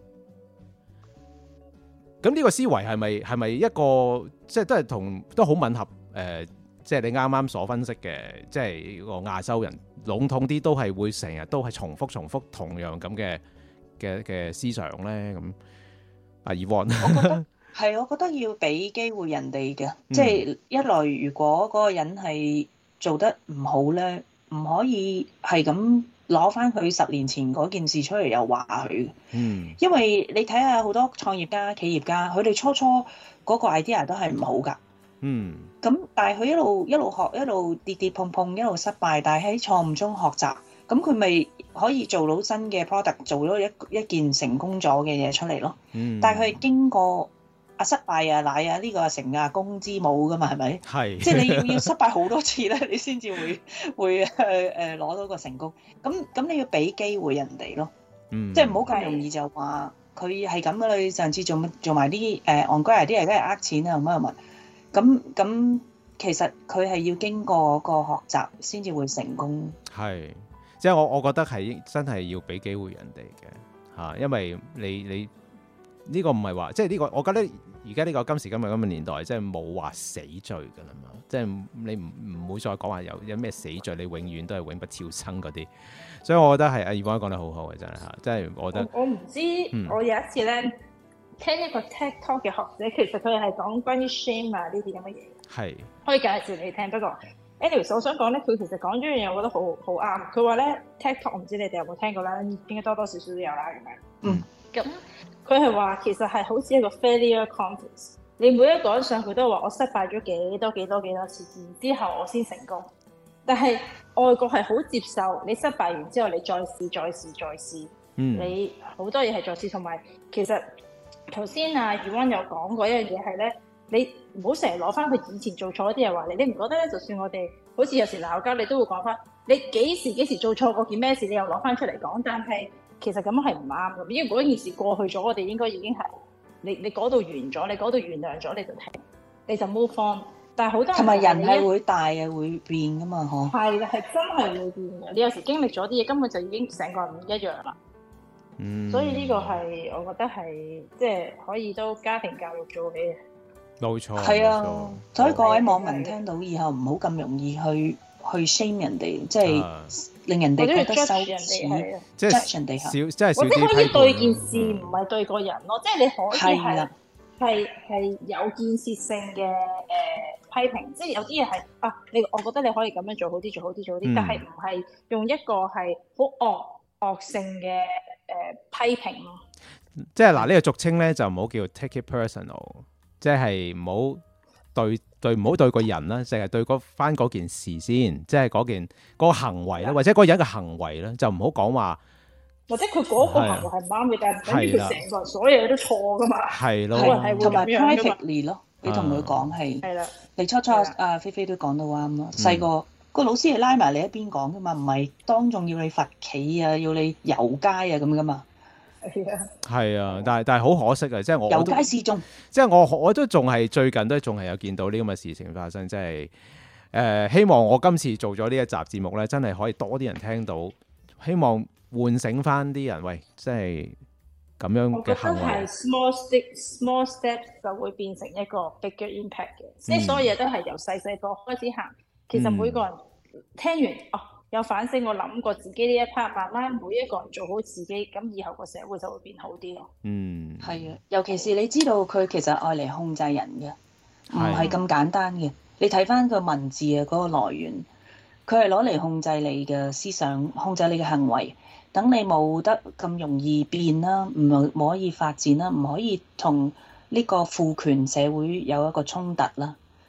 咁呢個思維係咪係咪一個即係都係同都好吻合誒？呃即係你啱啱所分析嘅，即係個亞洲人籠統啲都係會成日都係重複重複同樣咁嘅嘅嘅思想咧。咁阿 Yvonne， 我覺得係，我覺得要俾機會人哋嘅，即係一來如果嗰個人係做得唔好咧，唔可以係咁攞翻佢十年前嗰件事出嚟又話佢。嗯，因為你睇下好多創業家、企業家，佢哋初初嗰個 idea 都係唔好㗎。嗯，咁但係佢一路一路學，一路跌跌碰碰，一路失敗，但係喺錯誤中學習，咁佢咪可以做到新嘅 product， 做咗一一件成功咗嘅嘢出嚟咯。嗯，但係佢係經過啊失敗啊乃啊呢個成啊功之母噶嘛，係咪？係，即係你要要失敗好多次咧，你先至會會誒誒攞到個成功。咁咁你要俾機會人哋咯。嗯，即係唔好咁容易就話佢係咁噶啦。你上次做做埋啲誒戇居啲人，梗係呃錢啊，乜乜乜。咁咁，其實佢係要經過個學習先至會成功。係，即係我我覺得係真係要俾機會人哋嘅嚇，因為你你呢個唔係話，即係呢個，我覺得而家呢個今時今日咁嘅年代，即係冇話死罪㗎啦嘛，即係你唔唔會再講話有有咩死罪，你永遠都係永不超生嗰啲。所以我覺得係阿 Yvonne講得好好嘅，真係嚇，即係我覺得。我唔知，嗯、我有一次咧。聽一個 TikTok 嘅學者，其實佢係講關於 shame 啊呢啲咁嘅嘢，係可以介紹你聽。不過 anyways 我想講咧，佢其實講咗樣嘢，我覺得好好啱。佢話咧 TikTok 我唔知你哋有冇聽過啦，應該多多少少都有啦咁樣。嗯，咁佢係話其實係好似一個 failure contest，你每一個人上去都話我失敗咗幾多幾多幾多次，然之後我先成功。但係外國係好接受你失敗完之後，你再試再試再試。嗯，你好多嘢係再試，同埋其實。頭先啊 Yvonne 有講過一樣嘢係咧，你唔好成日攞翻佢以前做錯啲嘢話你，你唔覺得咧？就算我哋好似有時鬧交，你都會講翻你幾時幾時做錯過件咩事，你又攞翻出嚟講。但係其實咁樣係唔啱嘅，因為嗰件事過去咗，我哋應該已經係你你嗰度完咗，你嗰度原諒咗，你就停，你就 move on。但係好多人同埋人係會大啊，會變噶嘛，嗬？係啦，係真係會變嘅。你有時經歷咗啲嘢，根本就已經成個人唔一樣啦。嗯，所以呢個係我覺得係即係可以都家庭教育做起嘅，冇錯。係啊，所以各位網民聽到以後唔好咁容易去去 shame 人哋，即係令人哋覺得羞恥，即係 judge 人哋，少即係少啲批判。或者可以對件事唔係對個人咯，即係你可以係係係有建設性嘅誒批評，即係有啲嘢係啊，你我覺得你可以咁樣做好啲，做好啲，做好啲，但係唔係用一個係好惡惡性嘅。誒、呃、批評咯，即係嗱呢個俗稱咧就唔好叫 take it personal， 即係唔好對對唔好對個人啦，淨係對嗰翻嗰件事先，即係嗰件嗰、嗰個行為啦，或者嗰個人嘅行為啦，就唔好講話，或者佢嗰個行為係唔啱嘅，但係等於佢成個所有嘢都錯噶嘛，係咯，同埋 privately 咯，你同佢講係，係啦，你初初阿菲菲都講到啱咯，細個。嗯個老師係拉埋你一邊講噶嘛，唔係當眾要你罰企啊，要你遊街啊咁噶嘛。係啊，係啊，但係但係好可惜啊，即係我遊街示眾，即係我我都仲係最近都仲係有見到呢咁嘅事情發生，即係誒希望我今次做咗呢一集節目咧，真係可以多啲人聽到，希望喚醒翻啲人，喂，即係咁樣嘅行為。我覺得係 small step small steps 就會變成一個 bigger impact 嘅，即係、嗯、所有嘢都係由細細個開始行。其實每個人聽完、嗯、哦有反省，我諗過自己呢一 part， 慢慢每一個人做好自己，咁以後個社會就會變好啲咯。嗯，係啊，尤其是你知道佢其實愛嚟控制人嘅，唔係咁簡單嘅。你睇翻個文字啊，嗰個來源，佢係攞嚟控制你嘅思想，控制你嘅行為，等你冇得咁容易變啦，唔唔可以發展啦，唔可以同呢個父權社會有一個衝突啦。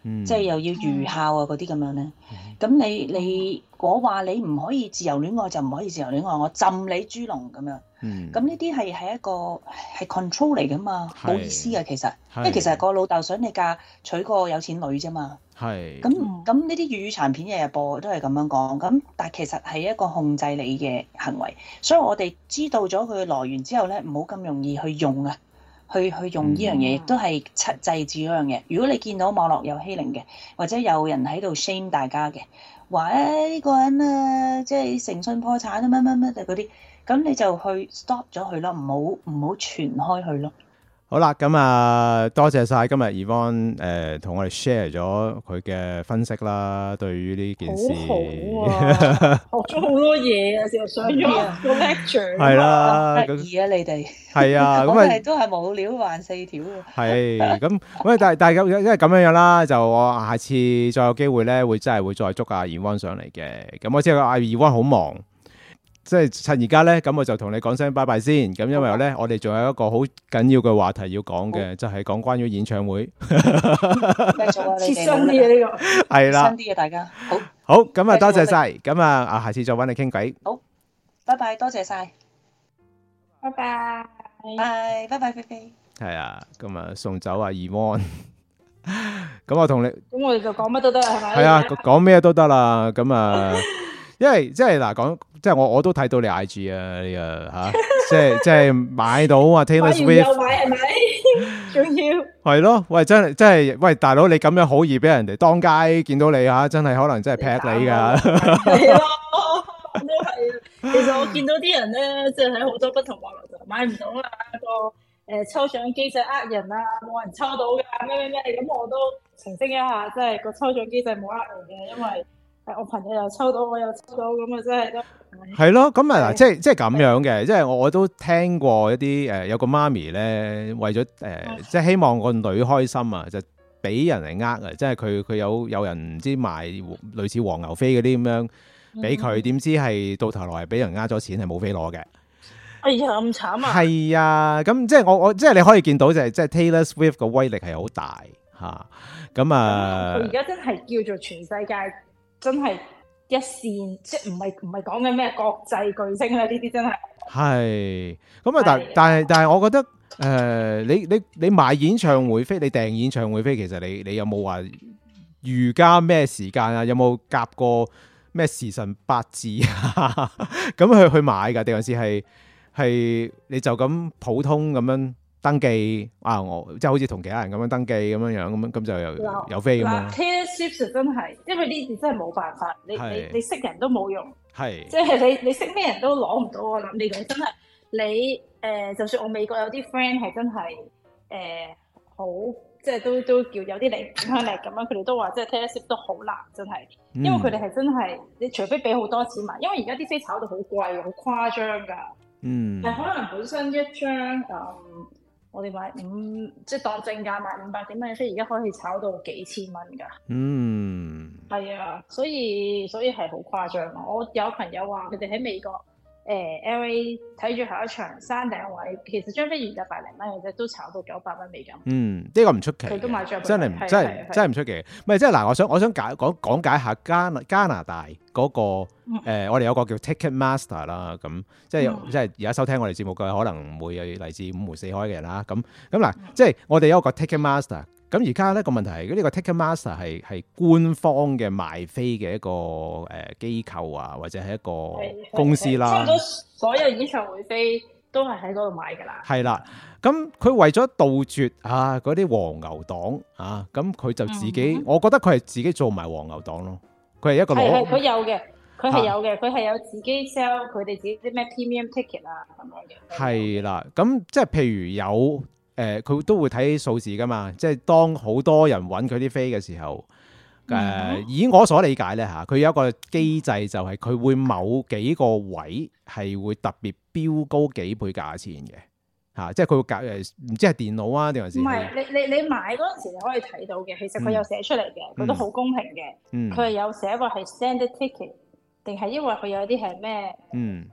嗯、 即係又要預校啊嗰啲咁樣咧。咁、嗯、你你我話你唔可以自由戀愛就唔可以自由戀愛，我浸你豬籠咁樣。咁呢啲係係一個係 control 嚟噶嘛，冇意思啊其實，因為其實個老豆想你嫁娶個有錢女啫嘛。 係。 咁咁呢啲粵語殘片日日播都係咁樣講，咁但係其實係一個控制你嘅行為，所以我哋知道咗佢嘅來源之後咧，唔好咁容易去用啊，去去用呢樣嘢，亦都係制止嗰樣嘢。如果你見到網絡有欺凌嘅，或者有人喺度 shame 大家嘅，話誒呢個人啊，即係誠信破產啊乜乜乜嗰啲。咁你就去 stop 咗佢咯，唔好唔好傳開去咯。 好啦，咁啊，多謝晒今日 Yvonne 誒同我哋 share 咗佢嘅分析啦，對於呢件事。 好好啊，學咗好多嘢啊，成日上咗個 lecture。 係啦， 得意啊你哋。 係啊，咁我哋都係冇料還四條喎。 係，咁咁但係但係因為咁樣樣啦，就我下次再有機會咧，會真係會再捉阿 Yvonne 上嚟嘅。咁我知阿 Yvonne 好忙。即係趁而家咧，咁我就同你講聲拜拜先。咁因為咧，我哋仲有一個好緊要嘅話題要講嘅，就係講關於演唱會。 繼續啊，你哋切身啲嘅呢個係啦， 切身啲嘅大家。好， 好咁啊，多謝晒。咁啊，啊，下次再揾你傾偈。 好，拜拜，多謝晒。 拜拜， 拜拜拜拜飛。 係啊，咁啊，送走阿 Yvonne。咁我同你， 咁我哋就講乜都得係咪？ 係啊，講咩都得啦。咁啊。因為即係嗱講，即係我我都睇到你 I G 啊，呢個吓，即係即係買到啊 Taylor Swift， 又買係咪？仲要係咯，喂真係真係，喂大佬你咁樣好易俾人哋當街見到你吓，真係可能真係劈你噶。 係咯，都係啊。其實我見到啲人咧，即係喺好多不同網絡度買唔到啊，個誒抽獎機制呃人啊，冇人抽到噶，咩咩咩，咁我都澄清一下，即係個抽獎機制冇呃人嘅，因為。我朋友又抽到，我又抽到，咁啊真係都係咯。咁啊嗱，即係即係咁樣嘅，即係我我都聽過一啲誒、呃，有個媽咪咧，為咗誒、呃，即係希望個女開心啊，就俾人嚟呃啊，即係佢佢有有人唔知賣類似黃牛飛嗰啲咁樣俾佢，點、嗯、知係到頭來係俾人呃咗錢，係冇飛攞嘅。 哎呀，咁慘啊！ 係啊，咁即係我我即係你可以見到就係即係 Taylor Swift 個威力係好大嚇。咁啊，佢而家真係叫做全世界。真係一線，即係唔係唔係講緊咩國際巨星啦？呢啲真係係咁啊！但但係但係，我覺得誒、呃，你你你買演唱會飛，你訂演唱會飛，其實你你有冇話預加咩時間啊？有冇夾過咩時辰八字啊？咁去去買㗎？定還是係係你就咁普通咁樣登記啊？我即係好似同其他人咁樣登記咁樣樣咁樣，咁就有有飛咁樣。 Taylor Swift 真係，因為呢啲真係冇辦法，你你你識人都冇用， 係即係你你識咩人都攞唔到。我諗呢個真係你誒、呃，就算我美國有啲 friend 係真係誒、呃、好，即係都都叫有啲影響力咁樣，佢哋都話即係 Taylor Swift 都好難，真係，因為佢哋係真係你除非俾好多錢買，因為而家啲飛炒到好貴，好誇張㗎。嗯，係可能本身一張誒。嗯我哋買五，即係當正價買五百幾蚊嘅飛，而家可以炒到幾千蚊噶。嗯，係啊，所以所以係好誇張。我有朋友話佢哋喺美國誒、呃、L A 睇住下一場山頂位，其實張飛原價百零蚊嘅啫，都炒到九百蚊美金。嗯，呢、這個唔出奇，佢都買咗，真係真係真係唔出奇。唔係即係嗱，我想我想解講講解下加加拿大嗰、那個、嗯呃、我哋有個叫 Ticketmaster 啦，咁即係、嗯、即係而家收聽我哋節目嘅可能會有嚟自五湖四海嘅人啦。咁咁嗱，即係我哋有一個 Ticketmaster。咁而家咧個問題係，呢個 Ticketmaster 係係官方嘅賣飛嘅一個誒機構啊，或者係一個公司啦。差唔多所有演唱會飛都係喺嗰度買㗎啦。係啦，咁佢為咗杜絕啊嗰啲黃牛黨啊，咁佢就自己，嗯、我覺得佢係自己做埋黃牛黨咯。佢係一個攞，係佢有嘅，佢係有嘅，佢係有自己 sell 佢哋自己啲咩 premium ticket 啊咁樣嘅。係啦，咁即係譬如有。誒佢、呃、都會睇數字㗎嘛，即係當好多人揾佢啲飛嘅時候，誒、呃、以我所理解咧嚇，佢有一個機制就係佢會某幾個位係會特別標高幾倍價錢嘅嚇、啊，即係佢會隔誒唔知係電腦啊定還是唔係？你你你買嗰陣時你可以睇到嘅，其實佢有寫出嚟嘅，佢、嗯、都好公平嘅，佢係、嗯、有寫過係 standard ticket 定係因為佢有啲係咩嗯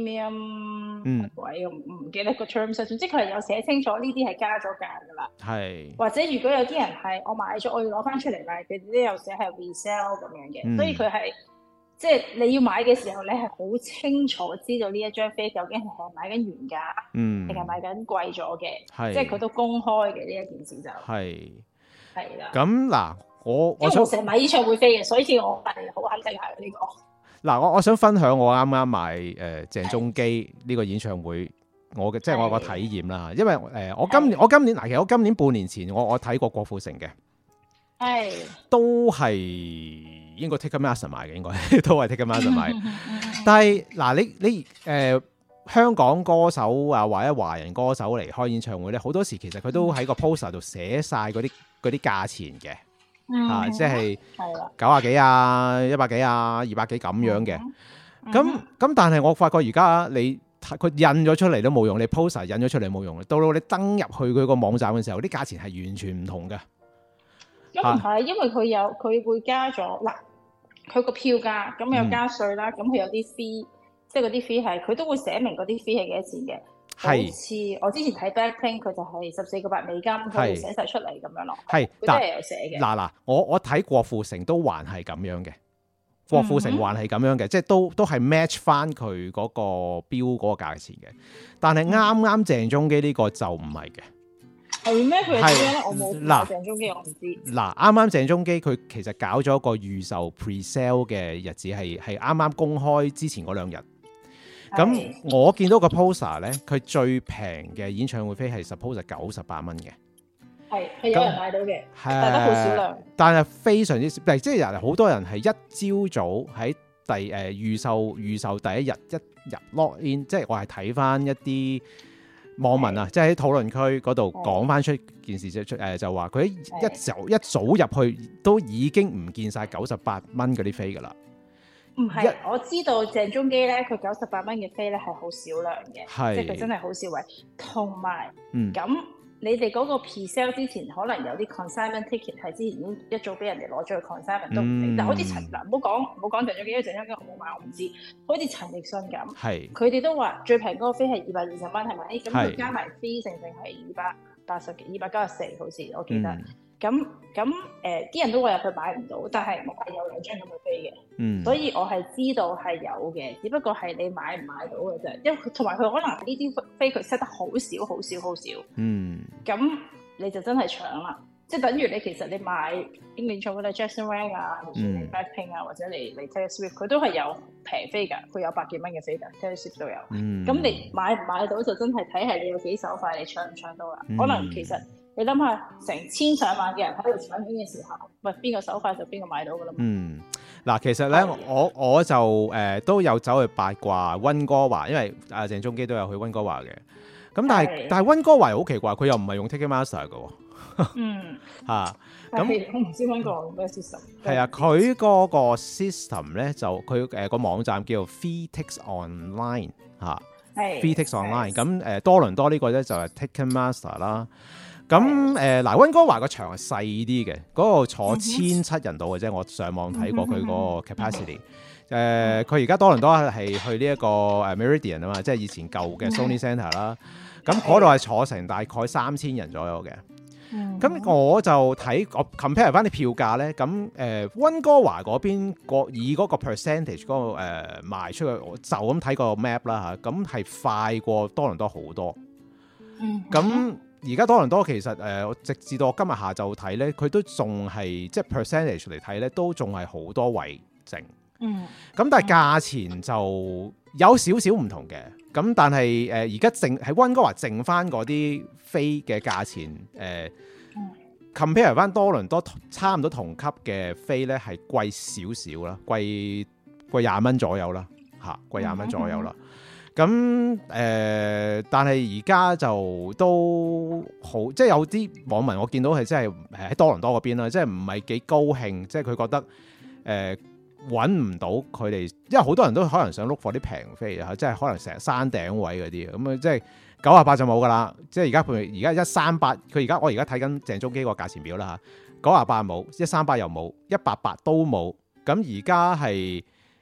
premium 嗯位，我唔唔記得個 terms，總之佢係有寫清楚呢啲係加咗價㗎啦。 係或者如果有啲人係我買咗，我要攞翻出嚟賣，佢哋都有寫係 resell 咁樣嘅， 嗯所以佢係即係你要買嘅時候，你係好清楚知道呢一張飛究竟係買緊原價， 嗯定係買緊貴咗嘅， 係即係佢都公開嘅呢一件事就係係啦。 咁嗱，我我想因為我成日買演唱會飛嘅，所以我係好肯定係呢個。 嗱，我我想分享我啱啱買誒、呃、鄭中基呢個演唱會，我嘅即係我個體驗啦。因為誒、呃、我今年我今年嗱，其實我今年半年前我我睇過郭富城嘅， 係都係應該 Ticketmaster 買嘅，應該都係 Ticketmaster 買。但係嗱，你你誒、呃、香港歌手啊，或者華人歌手嚟開演唱會咧，好多時其實佢都喺個 poster 度寫晒嗰啲嗰啲價錢嘅。 嗯啊，即係係啦， 九啊幾啊、一百幾啊、二百幾咁樣嘅。咁咁、 嗯， 但係我發覺而家你佢印咗出嚟都冇用，你 poster 印咗出嚟冇用，到到你登入去佢個網站嘅時候，啲價錢係完全唔同嘅。 咁唔係，因為佢有佢會加咗嗱，佢個票價咁有加稅啦，咁佢、嗯、有啲 fee，即係嗰啲 fee 係佢都會寫明嗰啲 fee 係幾多錢嘅。好似我之前睇 Blackpink 佢就係十四個八美金，佢會寫晒出嚟咁樣咯。 係， 佢都係有寫嘅。 嗱嗱，我我睇郭富城都還係咁樣嘅，郭富城還係咁樣嘅，嗯、即係都都係 match 翻佢嗰個標嗰個價錢嘅。但係啱啱鄭中基呢個就唔係嘅。 係咩？佢係點樣咧？我冇嗱鄭中基，我唔知。 嗱，啱啱鄭中基佢其實搞咗一個預售 pre-sale 嘅日子，係係啱啱公開之前嗰兩日。咁我見到個 poster 咧，佢最平嘅演唱會飛係 suppose 九十八蚊嘅， 係係有人買到嘅，但係好少量。 但係非常之即係人好多人係一朝早喺第誒、呃、預售預售第一日一入 log in， 即係我係睇翻一啲網民啊，即係喺討論區嗰度講翻出件事出誒，就話佢一早一早入去都已經唔見晒九十八蚊嗰啲飛㗎啦。 唔係，我知道鄭中基咧，佢九十八蚊嘅飛咧係好少量嘅，即係佢真係好少位。同埋，咁、嗯、你哋嗰個 pre-sale 之前，可能有啲 consignment ticket 係之前已經一早俾人哋攞咗去 consignment 都唔定。嗯、但好似陳嗱，唔好講唔好講鄭中基，因為鄭中基我冇買，我唔知。好似陳奕迅咁，佢哋都話最平嗰個飛係二百二十蚊，係咪？咁佢加埋飛成成係二百八十幾、二百九十四，好似我記得。嗯咁咁誒，啲、呃、人都話入去買唔到，但係我係有兩張咁嘅飛嘅，嗯，所以我係知道係有嘅，只不過係你買唔買到嘅啫。因為同埋佢可能呢啲飛佢 set 得好少、好少、好少，嗯，咁你就真係搶啦，即係等於你其實你買英聯唱嗰啲 Jackson Wang 啊，或者你 Blackpink 啊，或者你你 Taylor Swift，佢都係有平飛㗎，佢有百幾蚊嘅飛㗎 Taylor Swift 都有，嗯，咁你買唔買到就真係睇係你有幾手快，你搶唔搶到啦，嗯、可能其實。你諗下，成千上萬嘅人喺度搶緊嘅時候，喂，邊個手快就邊個買到㗎啦。嗯，嗱，其實咧，我我就誒、呃、都有走去八卦溫哥華，因為阿鄭中基都有去溫哥華嘅。咁但係但係溫哥華又好奇怪，佢又唔係用 Ticketmaster 嘅喎。嗯。嚇、啊，咁我唔知溫哥華用咩 system。係啊，佢嗰個 system 咧就佢誒個網站叫做 FreeTix Online 嚇、啊。係。FreeTix Online，咁誒多倫多呢個咧就係 Ticketmaster 啦。咁誒嗱，溫哥華個場係細啲嘅，嗰、那個坐千七人度嘅啫。我上網睇過佢嗰個 capacity。誒、呃，佢而家多倫多係去呢一個誒 Meridian 啊嘛，即係以前舊嘅 Sony Centre 啦。咁嗰度係坐成大概三千人左右嘅。咁我就睇我 compare 翻啲票價咧。咁誒溫哥華嗰邊個以嗰個 percentage 嗰、那個誒、呃、賣出去，我就咁睇個 map 啦嚇。咁係快過多倫多好多。咁而家多倫多其實誒、呃，直至到我今日下晝睇咧，佢都仲係即係 percentage 嚟睇咧，都仲係好多位剩。嗯。咁但係價錢就有少少唔同嘅。咁但係誒，而家剩喺溫哥華剩翻嗰啲飛嘅價錢誒、呃嗯、compare 翻多倫多差唔多同級嘅飛咧，係貴少少啦，貴貴廿蚊左右啦，嚇，貴廿蚊左右啦。咁誒、呃，但係而家就都好，即係有啲網民我見到係真係喺多倫多嗰邊啦，即係唔係幾高興，即係佢覺得誒揾唔到佢哋，因為好多人都可能想 look for 啲平飛啊，即係可能成日山頂位嗰啲，咁啊即係九啊八就冇噶啦，即係而家譬如而家一三八，佢而家我而家睇緊鄭中基個價錢表啦嚇，九啊八冇，一三八又冇，一八八都冇，咁而家係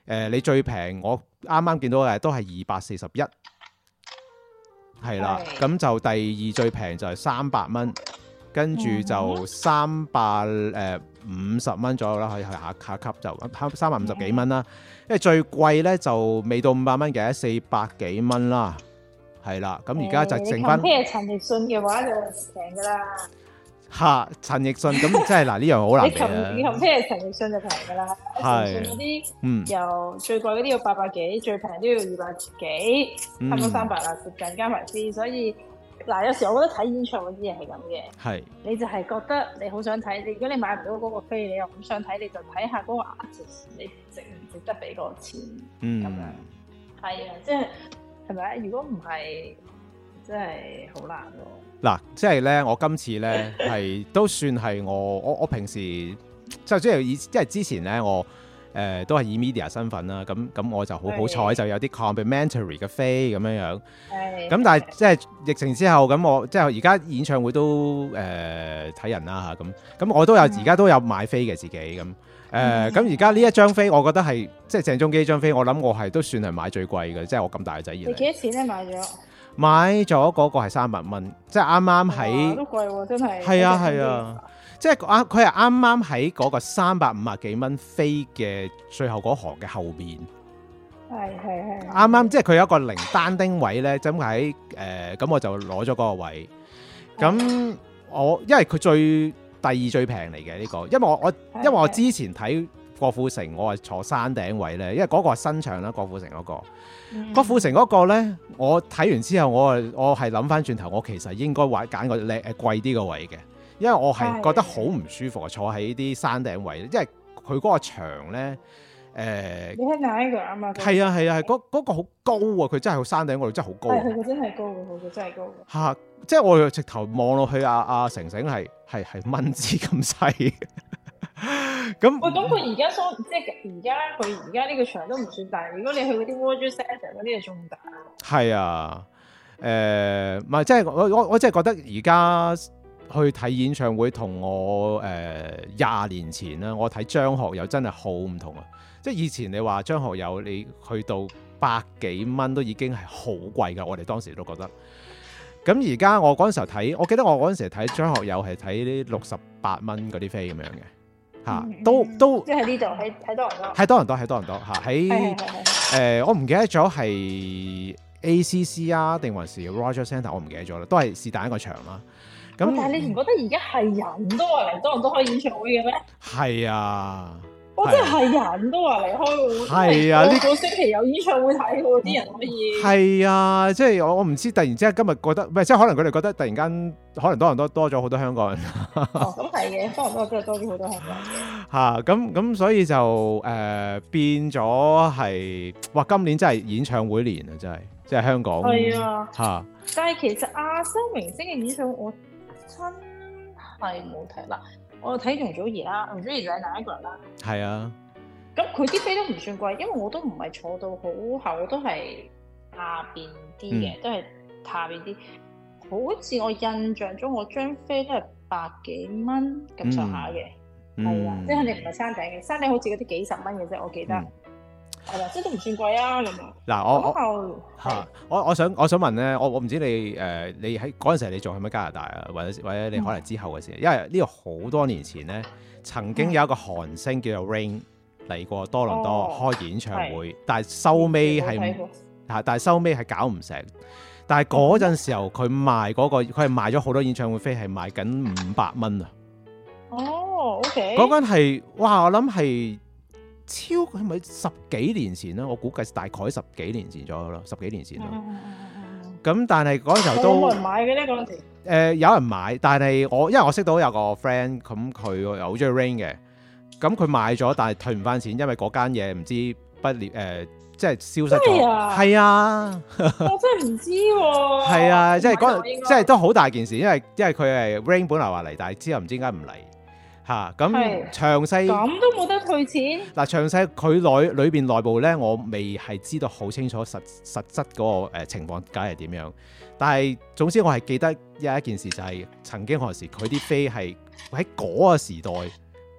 呃、你最平我啱啱見到嘅都係二百四十一，係啦，咁就第二最平就係三百蚊，跟住就三百誒五十蚊左右啦，可以去下下級就三百五十幾蚊啦。因為最貴咧就未到五百蚊嘅，四百幾蚊啦，係啦。咁而家就剩翻。 譬如陳奕迅嘅話就平噶啦。 嚇，陳奕迅咁即係嗱呢樣好難嘅。 你同譬如陳奕迅就平噶啦。陳奕迅嗰啲由最貴嗰啲要八百幾，最平都要二百幾，差唔多三百啦，接近加埋先。所以嗱，有時我覺得睇演唱會啲嘢係咁嘅。係。你就係覺得你好想睇，你如果你買唔到嗰個飛，你又唔想睇，你就睇下嗰個 artist，你值唔值得俾嗰個錢？嗯。咁樣。係啊，即係係咪？如果唔係，真係好難咯。 嗱，即係咧，我今次咧係都算係我我我平時即係即係以即係之前咧，我誒、呃、都係以 media 身份啦，咁咁我就好好彩，就有啲 complimentary 嘅飛咁樣樣。係。咁但係即係疫情之後，咁我即係而家演唱會都誒睇、呃、人啦嚇，咁咁我都有而家、嗯、都有買飛嘅自己咁誒，咁而家呢一張飛，我覺得係即係鄭中基張飛，我諗我係都算係買最貴嘅，即係我咁大個仔以嚟。 你幾多錢咧買咗？ 買咗嗰個係三百蚊，即係啱啱喺都貴喎，真係。係啊係啊，即係啱佢係啱啱喺嗰個三百五啊幾蚊飛嘅最後嗰行嘅後邊。係係係。啱啱即係佢有一個零單丁位咧，就喺誒咁我就攞咗嗰個位。咁我因為佢最第二最平嚟嘅呢個，因為我我因為我之前睇郭富城，我係坐山頂位咧，因為嗰個係新場啦，郭富城嗰個。郭富城嗰個咧，我睇完之後，我我係諗翻轉頭，我其實應該話揀個靚誒貴啲個位嘅，因為我係覺得好唔舒服啊，坐喺啲山頂位，因為佢嗰個牆咧誒， 你喺哪一個啊嘛？ 係啊係啊係，嗰嗰個好高啊，佢真係喺山頂嗰度真係好高。 係佢真係高嘅，佢真係高嘅。 嚇！即係我直頭望落去，阿阿成成係係係蚊子咁細。咁喂，咁佢而家所即係而家佢而家呢個場都唔算大，如果你去嗰啲 World Centre 嗰啲就仲大。係啊，誒、呃，唔係即係我我我真係覺得而家去睇演唱會同我誒廿、呃、年前啦，我睇張學友真係好唔同啊！即係以前你話張學友你去到百幾蚊都已經係好貴㗎，我哋當時都覺得。咁而家我嗰陣時候睇，我記得我嗰陣時睇張學友係睇啲六十八蚊嗰啲飛咁樣嘅。嚇、嗯，都都即係呢度喺喺多倫多， 喺多倫多，喺多倫多嚇，喺誒我唔記得咗係 A C C 啊，定還是 Rogers Centre，我唔記得咗啦，都係是但一個場啦。咁但係你唔覺得而家係人都話嚟多倫多開演唱會嘅咩？ 係啊。 我真係人都話嚟開會， 係啊，呢個星期有演唱會睇喎，啲人可以。係啊，即係我我唔知，突然之間今日覺得，唔係即係可能佢哋覺得突然間可能多倫多多咗好多香港人。 哦，咁係嘅，多倫多真係多咗好多香港人嘅。 嚇，咁咁所以就誒、呃、變咗係，哇！今年真係演唱會年啊，真係，即係香港。 係啊。嚇！ 但係其實亞洲明星嘅演唱會，我真係冇睇啦。我睇容祖兒啦，容祖兒就係哪一個人啦？ 係啊， 咁佢啲飛都唔算貴，因為我都唔係坐到好後，都係下邊啲嘅，嗯、都係下邊啲。好似我印象中，我張飛都係百幾蚊咁上下嘅，係啊、嗯，即係肯定唔係山頂嘅，山頂好似嗰啲幾十蚊嘅啫，我記得。嗯係啦，即係都唔算貴啊咁啊！嗱， 我我嚇，我我想我想問咧，我我唔知你誒、呃，你喺嗰陣時你仲喺唔喺加拿大啊？或者或者你可能之後嘅時候，嗯、因為呢個好多年前咧，曾經有一個韓星叫做 Rain 嚟過多倫多、哦、開演唱會，但係收尾係嚇，但係收尾係搞唔成。但係嗰陣時候佢賣嗰、嗰個，佢係賣咗好多演唱會飛，係賣緊五百蚊啊！ 哦，OK，嗰間係哇，我諗係。超係咪十幾年前啦？我估計大概十幾年前左右咯，十幾年前咯。咁、嗯、但係嗰陣時候都冇人買嘅咧嗰陣時。誒、 呃、有人買，但係我因為我識到有個 friend，咁佢又好中意 Rain 嘅，咁佢買咗，但係退唔翻錢，因為嗰間嘢唔知不了誒、呃，即係消失咗。係啊，啊我真係唔知喎。係啊，即係嗰陣，即係都好大件事，因為因為佢係 Rain 本來話嚟，但係之後唔知點解唔嚟。嚇咁詳細咁都冇得退錢嗱，詳細佢內裏邊內部咧，我未係知道好清楚實實質嗰、那個、呃、情況梗係點樣，但係總之我係記得有一件事就係、是、曾經何時佢啲飛係喺嗰個時代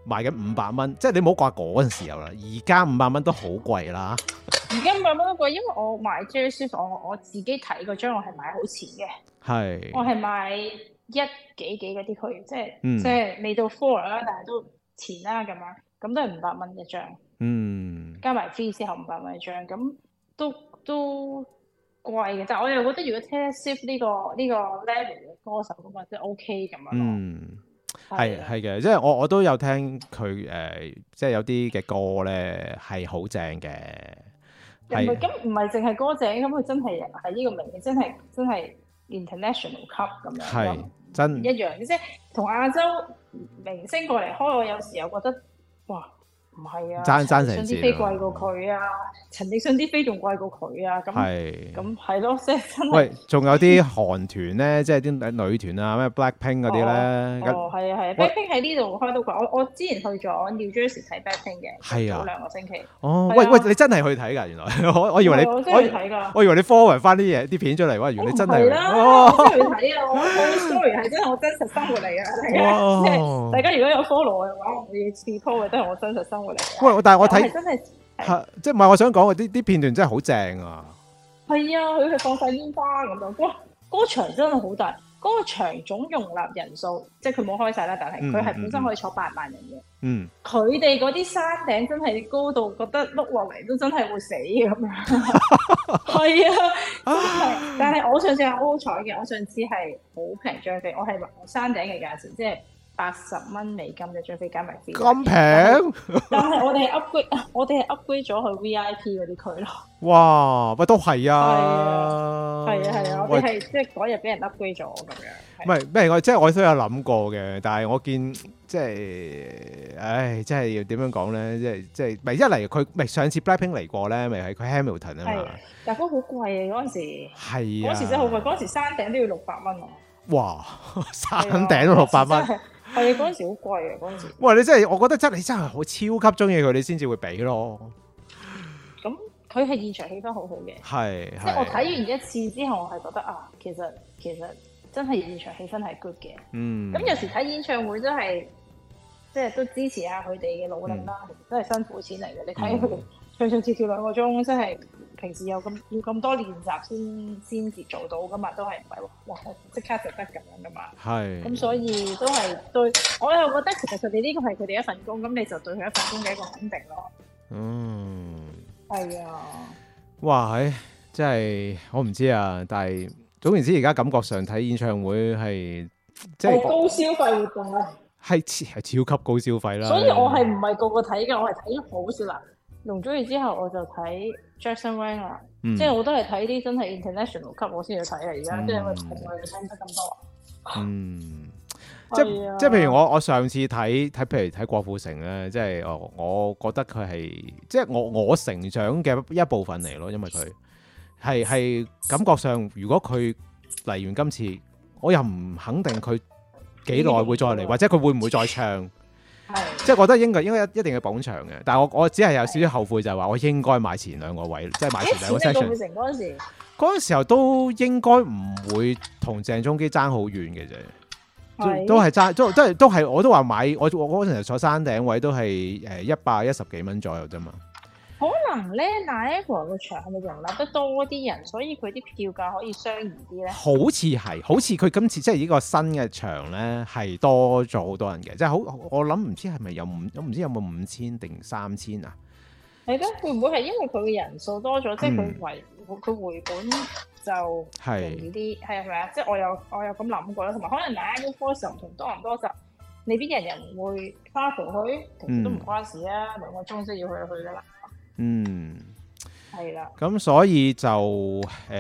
賣緊五百蚊，即係你唔好掛嗰陣時候啦，而家五百蚊都好貴啦。 而家五百蚊都貴，因為我買 J 書房，我我自己睇嗰張我係買好前嘅， 係我係買一幾幾嗰啲區，即係、 嗯、 即係未到 four 啦，但係都前啦咁樣，咁都係五百蚊一張， 嗯， 加埋 fee 之後五百蚊一張，咁都都貴嘅，但係我又覺得如果 Taylor Swift 呢個呢、呢個 level 嘅歌手咁啊，即係 OK 咁樣咯。 嗯，係係嘅，即係我我都有聽佢誒、呃，即係有啲嘅歌咧係好正嘅。 唔係咁，唔係淨係歌正，咁佢真係係呢個名，真係真係 international 級咁樣， 係真一樣嘅，即係同亞洲明星過嚟開，我有時候覺得哇，唔係啊， 爭爭成啲飛貴過佢啊，陳奕迅啲飛仲貴過佢啊，咁咁係咯，即係真係。 喂，仲有啲韓團咧，即係啲女團啊，咩 Blackpink 嗰啲咧。 哦，係啊係啊 ，Blackpink 喺呢度開到啩，我我之前去咗 New Jersey 睇 Blackpink 嘅， 係啊， 早兩個星期。 哦，喂喂，你真係去睇㗎？原來我我以為你我真係去睇㗎， 我以為你 forward 翻啲嘢啲片出嚟，哇！原來你真係係啦，我真係去睇啊！我我 story 係真係我真實生活嚟㗎，大家即係大家如果有 follow 我嘅話，我要次 po 嘅都係我真實生活嚟嘅。 喂，但係我睇真係係即係唔係我想講嘅啲啲片段真係好正啊！ 係啊，佢係放晒煙花咁樣，哇！嗰個場真係好大，嗰個場總容納人數，即係佢冇開晒啦，但係佢係本身可以坐八萬人嘅。 嗯， 佢哋嗰啲山頂真係高到覺得碌落嚟都真係會死咁樣。係啊，真係。但係我上次係好好彩嘅，我上次係好平張飛，我係山頂嘅價錢，即係八十蚊美金嘅張飛加埋飛。 咁平？ 但係我哋係 upgrade，我哋係 upgrade 咗去 V I P 嗰啲區咯。 哇！喂，都係啊， 係啊係啊，我哋係即係嗰日俾人 upgrade 咗咁樣。 唔係咩？我即係我都有諗過嘅，但係我見即係，唉，即係要點樣講咧？即係即係，咪一嚟佢咪上次 Blackpink 嚟過咧，咪係佢 Hamilton 啊嘛。 但係嗰好貴啊！嗰陣時係啊， 嗰時真係好貴，嗰陣時山頂都要六百蚊啊！ 哇！山頂都六百蚊， 係啊！嗰陣時好貴啊！嗰陣時。 哇！你真係，我覺得真係你真係好超級中意佢，你先至會俾咯。 咁佢係現場氣氛好好嘅， 係即係我睇完一次之後，我係覺得啊，其實其實真係現場氣氛係 good 嘅。 嗯。咁有時睇演唱會真係即係都支持下佢哋嘅努力啦，其實真係辛苦錢嚟嘅。你睇佢哋唱唱跳跳兩個鐘，真係平時有咁要咁多練習先先至做到噶嘛，都係唔係哇即刻就得咁樣噶嘛。係。咁所以都係對我又覺得其實佢哋呢個係佢哋一份工，咁你就對佢一份工嘅一個肯定咯。嗯。係啊！ 哇，係真係我唔知啊，但係總言之，而家感覺上睇演唱會係即係高消費活動啊， 係係超級高消費啦。 所以我係唔係個個睇嘅，我係睇好少啦。容祖兒之後我就睇 Jackson Wang 啦，嗯、即係我都係睇啲真係 international 級我先去睇啊。而家、嗯、即係我從來冇聽得咁多。嗯。即係即係，譬如我我上次睇睇，譬如睇郭富城咧，即係我我覺得佢係即係我我成長嘅一部分嚟咯，因為佢係係感覺上，如果佢嚟完今次，我又唔肯定佢幾耐會再嚟，或者佢會唔會再唱？即係覺得應該應該一定要捧場嘅。但係我我只係有少少後悔，就係話我應該買前兩個位，即係買前兩個 section。郭富城嗰陣時，嗰陣時候都應該唔會同鄭中基爭好遠嘅啫。都係爭，都都係都係，我都話買，我我嗰陣時坐山頂位都係誒一百一十幾蚊左右啫嘛。可能咧，Niagara個場係咪容納得多啲人，所以佢啲票價可以相宜啲咧？好似係，好似佢今次即係呢個新嘅場咧，係多咗好多人嘅，即係好我諗唔知係咪有五，我唔知有冇五千定三千啊？係咯，會唔會係因為佢嘅人數多咗，即係佢回佢回本就容易啲，係咪啊？即係我有我有咁諗過啦，同埋可能 Niagara Falls 同多倫多就未必人人會花蒲去，其實都唔關事啊，兩個鐘先要去就去噶啦。嗯，係啦。咁所以就誒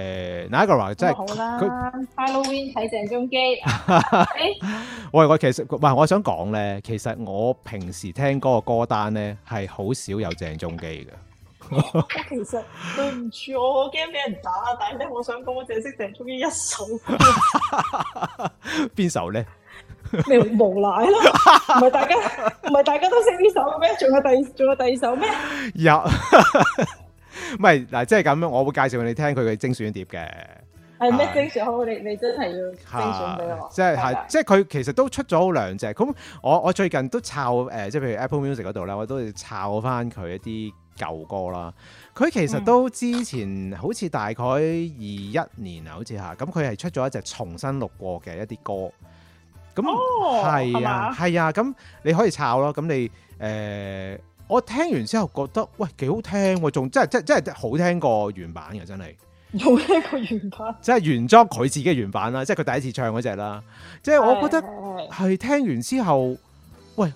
Niagara 即係好啦。佢 Halloween 睇鄭中基。喂，我其實唔係我想講咧，其實我平時聽歌嘅歌單咧係好少有鄭中基嘅。我其實對唔住，我驚俾人打，但係咧，我想講，我淨係識鄭中基一首歌。邊首咧？咩無賴咯？唔係大家唔係大家都識呢首咩？仲有第仲有第二首咩？有，唔係嗱，即係咁樣，我會介紹你聽佢嘅精選碟嘅。 係咩精選好？你你真係要精選俾我。 即係係，即係佢其實都出咗好兩隻。咁我我最近都抄誒、呃，即係譬如 Apple Music 嗰度咧，我都抄翻佢一啲舊歌啦。佢其實都之前好似大概二一年啊，好似嚇，咁佢係出咗一隻重新錄過嘅一啲歌。咁係啊係啊，咁你可以抄咯。咁你誒、呃，我聽完之後覺得喂幾好聽喎，仲真係真真係好聽過原版嘅，真係。 有聽過原版， 即係原裝佢自己嘅原版啦，即係佢第一次唱嗰隻啦。即係我覺得係聽完之後，喂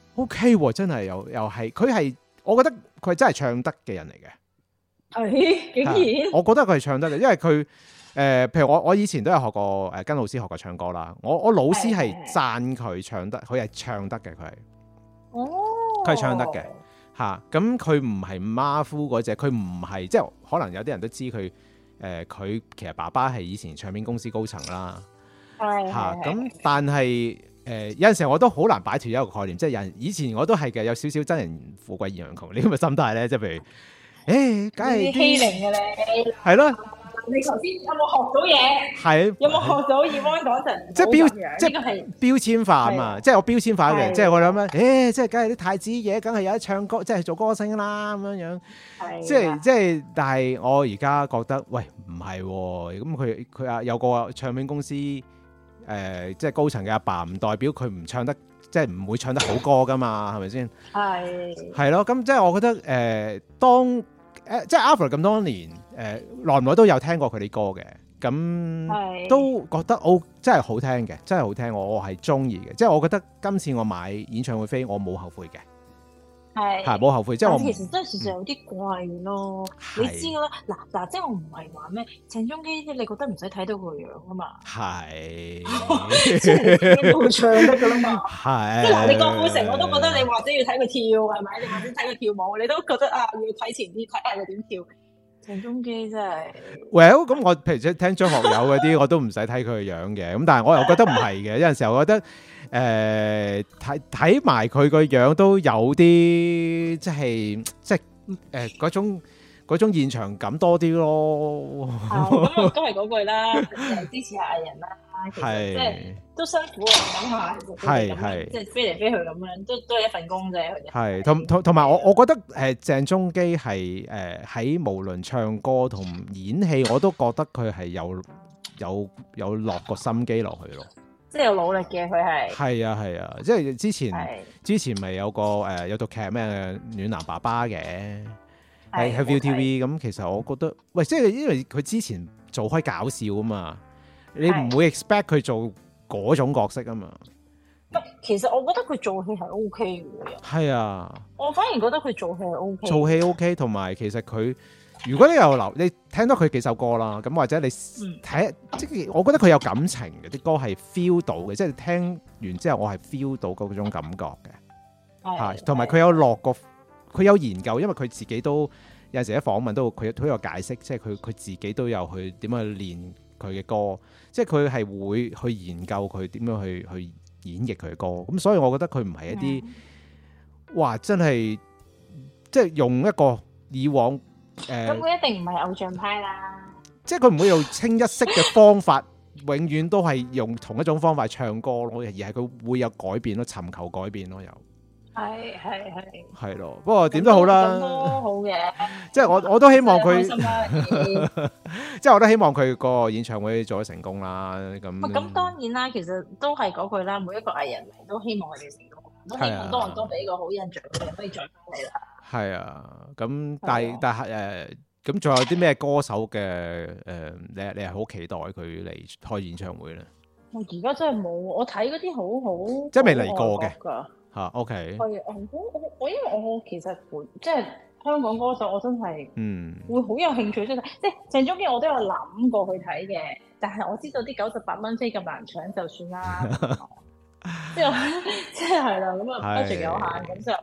OK 喎，真係又又係佢係，我覺得佢係真係唱得嘅人嚟嘅。 係竟然， 我覺得佢係唱得嘅，因為佢誒、呃，譬如我我以前都有學過誒，跟老師學過唱歌啦。我我老師係讚佢唱得，佢係唱得嘅，佢係哦， 佢係唱得嘅嚇。咁佢唔係馬夫嗰隻，佢唔係即係可能有啲人都知佢。誒佢、呃、其實爸爸係以前唱片公司高層啦，嚇咁，但係誒、呃、有陣時候我都好難擺脫一個概念，即係有人以前我都係嘅，有少少真人富貴現人窮呢咁嘅心態咧，即係譬如誒，梗係欺凌嘅你， 係咯。 你頭先有冇學到嘢？係有冇學到葉安講陣？ 即係標，即係標籤化啊嘛！即係我標籤化嘅，即係我諗咧，誒，即係梗係啲太子爺，梗係有得唱歌，即係做歌星啦咁樣樣。即係即係，但係我而家覺得，喂，唔係喎。咁佢佢啊有個唱片公司誒、呃，即係高層嘅阿爸，唔代表佢唔唱得，即係唔會唱得好歌噶嘛？係咪先？係係咯，咁即係我覺得誒、呃，當誒、呃、即係 Alfred 咁多年。誒耐唔耐都有聽過佢啲歌嘅，咁都覺得哦，真係好聽嘅，真係好聽，我我係中意嘅，即係我覺得今次我買演唱會飛，我冇後悔嘅，係係冇後悔，即係我其實真係事實有啲怪咯，你知㗎啦，嗱嗱，即係我唔係話咩鄭中基，你覺得唔使睇到佢樣啊嘛，係，即係你自己都會唱得㗎啦嘛，係，即係嗱，你郭富城我都覺得你或者要睇佢跳係咪？你或者睇佢跳舞，你都覺得啊要睇前啲睇下佢點跳。鄭中基真係，Well 咁我譬如聽張學友嗰啲，我都唔使睇佢嘅樣嘅，咁但係我又覺得唔係嘅，有陣時候我覺得誒睇睇埋佢個樣都有啲即係即係誒嗰種嗰種現場感多啲咯。咁都係嗰句啦，支持下藝人啦。其實即係都辛苦啊，諗下係係即係飛嚟飛去咁樣，都都係一份工啫。係同同同埋我我覺得誒鄭中基係誒喺無論唱歌同演戲，我都覺得佢係有有有落個心機落去咯。即係有努力嘅佢係。係啊係啊，即係之前之前咪有個誒有套劇咩暖男爸爸嘅喺喺 ViuTV 咁，其實我覺得喂，即係因為佢之前做開搞笑啊嘛。你唔會 expect 佢做嗰種角色啊嘛？其實我覺得佢做戲係 O K 嘅。係啊，我反而覺得佢做戲係 O K。做戲 O K，同埋其實佢，如果你有留，你聽到佢幾首歌啦，咁或者你睇，即係、嗯、我覺得佢有感情嘅啲歌係 feel 到嘅，即係聽完之後我係 feel 到嗰種感覺嘅。係，同埋佢有落過，佢有研究，因為佢自己都有陣時喺訪問都佢都有解釋，即係佢佢自己都有去點樣去練。佢嘅歌，即係佢係會去研究佢點樣去去演繹佢嘅歌，咁所以我覺得佢唔係一啲，哇！真係即係用一個以往誒，咁佢一定唔係偶像派啦，即係佢唔會用清一色嘅方法，永遠都係用同一種方法唱歌咯，而係佢會有改變咯，尋求改變咯，又。係係係係咯，不過點都好啦，都好嘅。即係我我都希望佢，即係我都希望佢個演唱會做得成功啦。咁咁當然啦，其實都係嗰句啦，每一個藝人嚟都希望佢哋成功，都希望多人都俾個好印象，佢哋可以再翻嚟啦。係啊，咁但係但係誒，咁仲有啲咩歌手嘅誒？你你係好期待佢嚟開演唱會咧？我而家真係冇，我睇嗰啲好好，即係未嚟過嘅。嚇、啊、OK，係我我我因為我其實即係香港歌手，我真係嗯會好有興趣即係即係鄭中基，我都有諗過去睇嘅，但係我知道啲九十八蚊飛咁難搶，就算啦。即係即係係啦，咁啊 budget 有限，咁就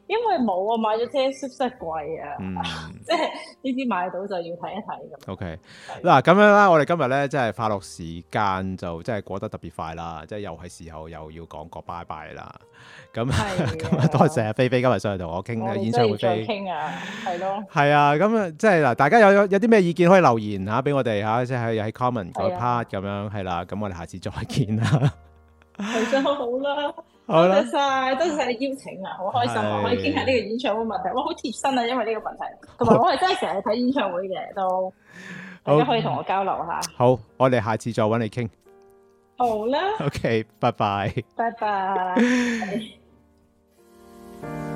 因為冇啊，買咗 Taylor Swift 真係貴啊， 嗯， 即係呢啲買到就要睇一睇咁。 OK，嗱咁樣啦，我哋今日咧即係快樂時間就即係過得特別快啦，即係又係時候又要講個拜拜啦。咁咁啊，多謝菲菲今日上嚟同我傾演唱會飛。 傾啊，係咯。 係啊，咁啊，即係嗱，大家有有啲咩意見可以留言嚇俾我哋嚇，即係喺 comment 嗰 part 咁樣係啦。咁我哋下次再見啦。 係真好啦。 好啦， 多謝晒，多謝晒你邀請啊，好開心啊，可以傾下呢個演唱會問題，哇，好貼身啊，因為呢個問題，同埋我係真係成日睇演唱會嘅，都大家可以同我交流下。 好，我哋下次再揾你傾。 好啦。 OK，拜拜。 拜拜。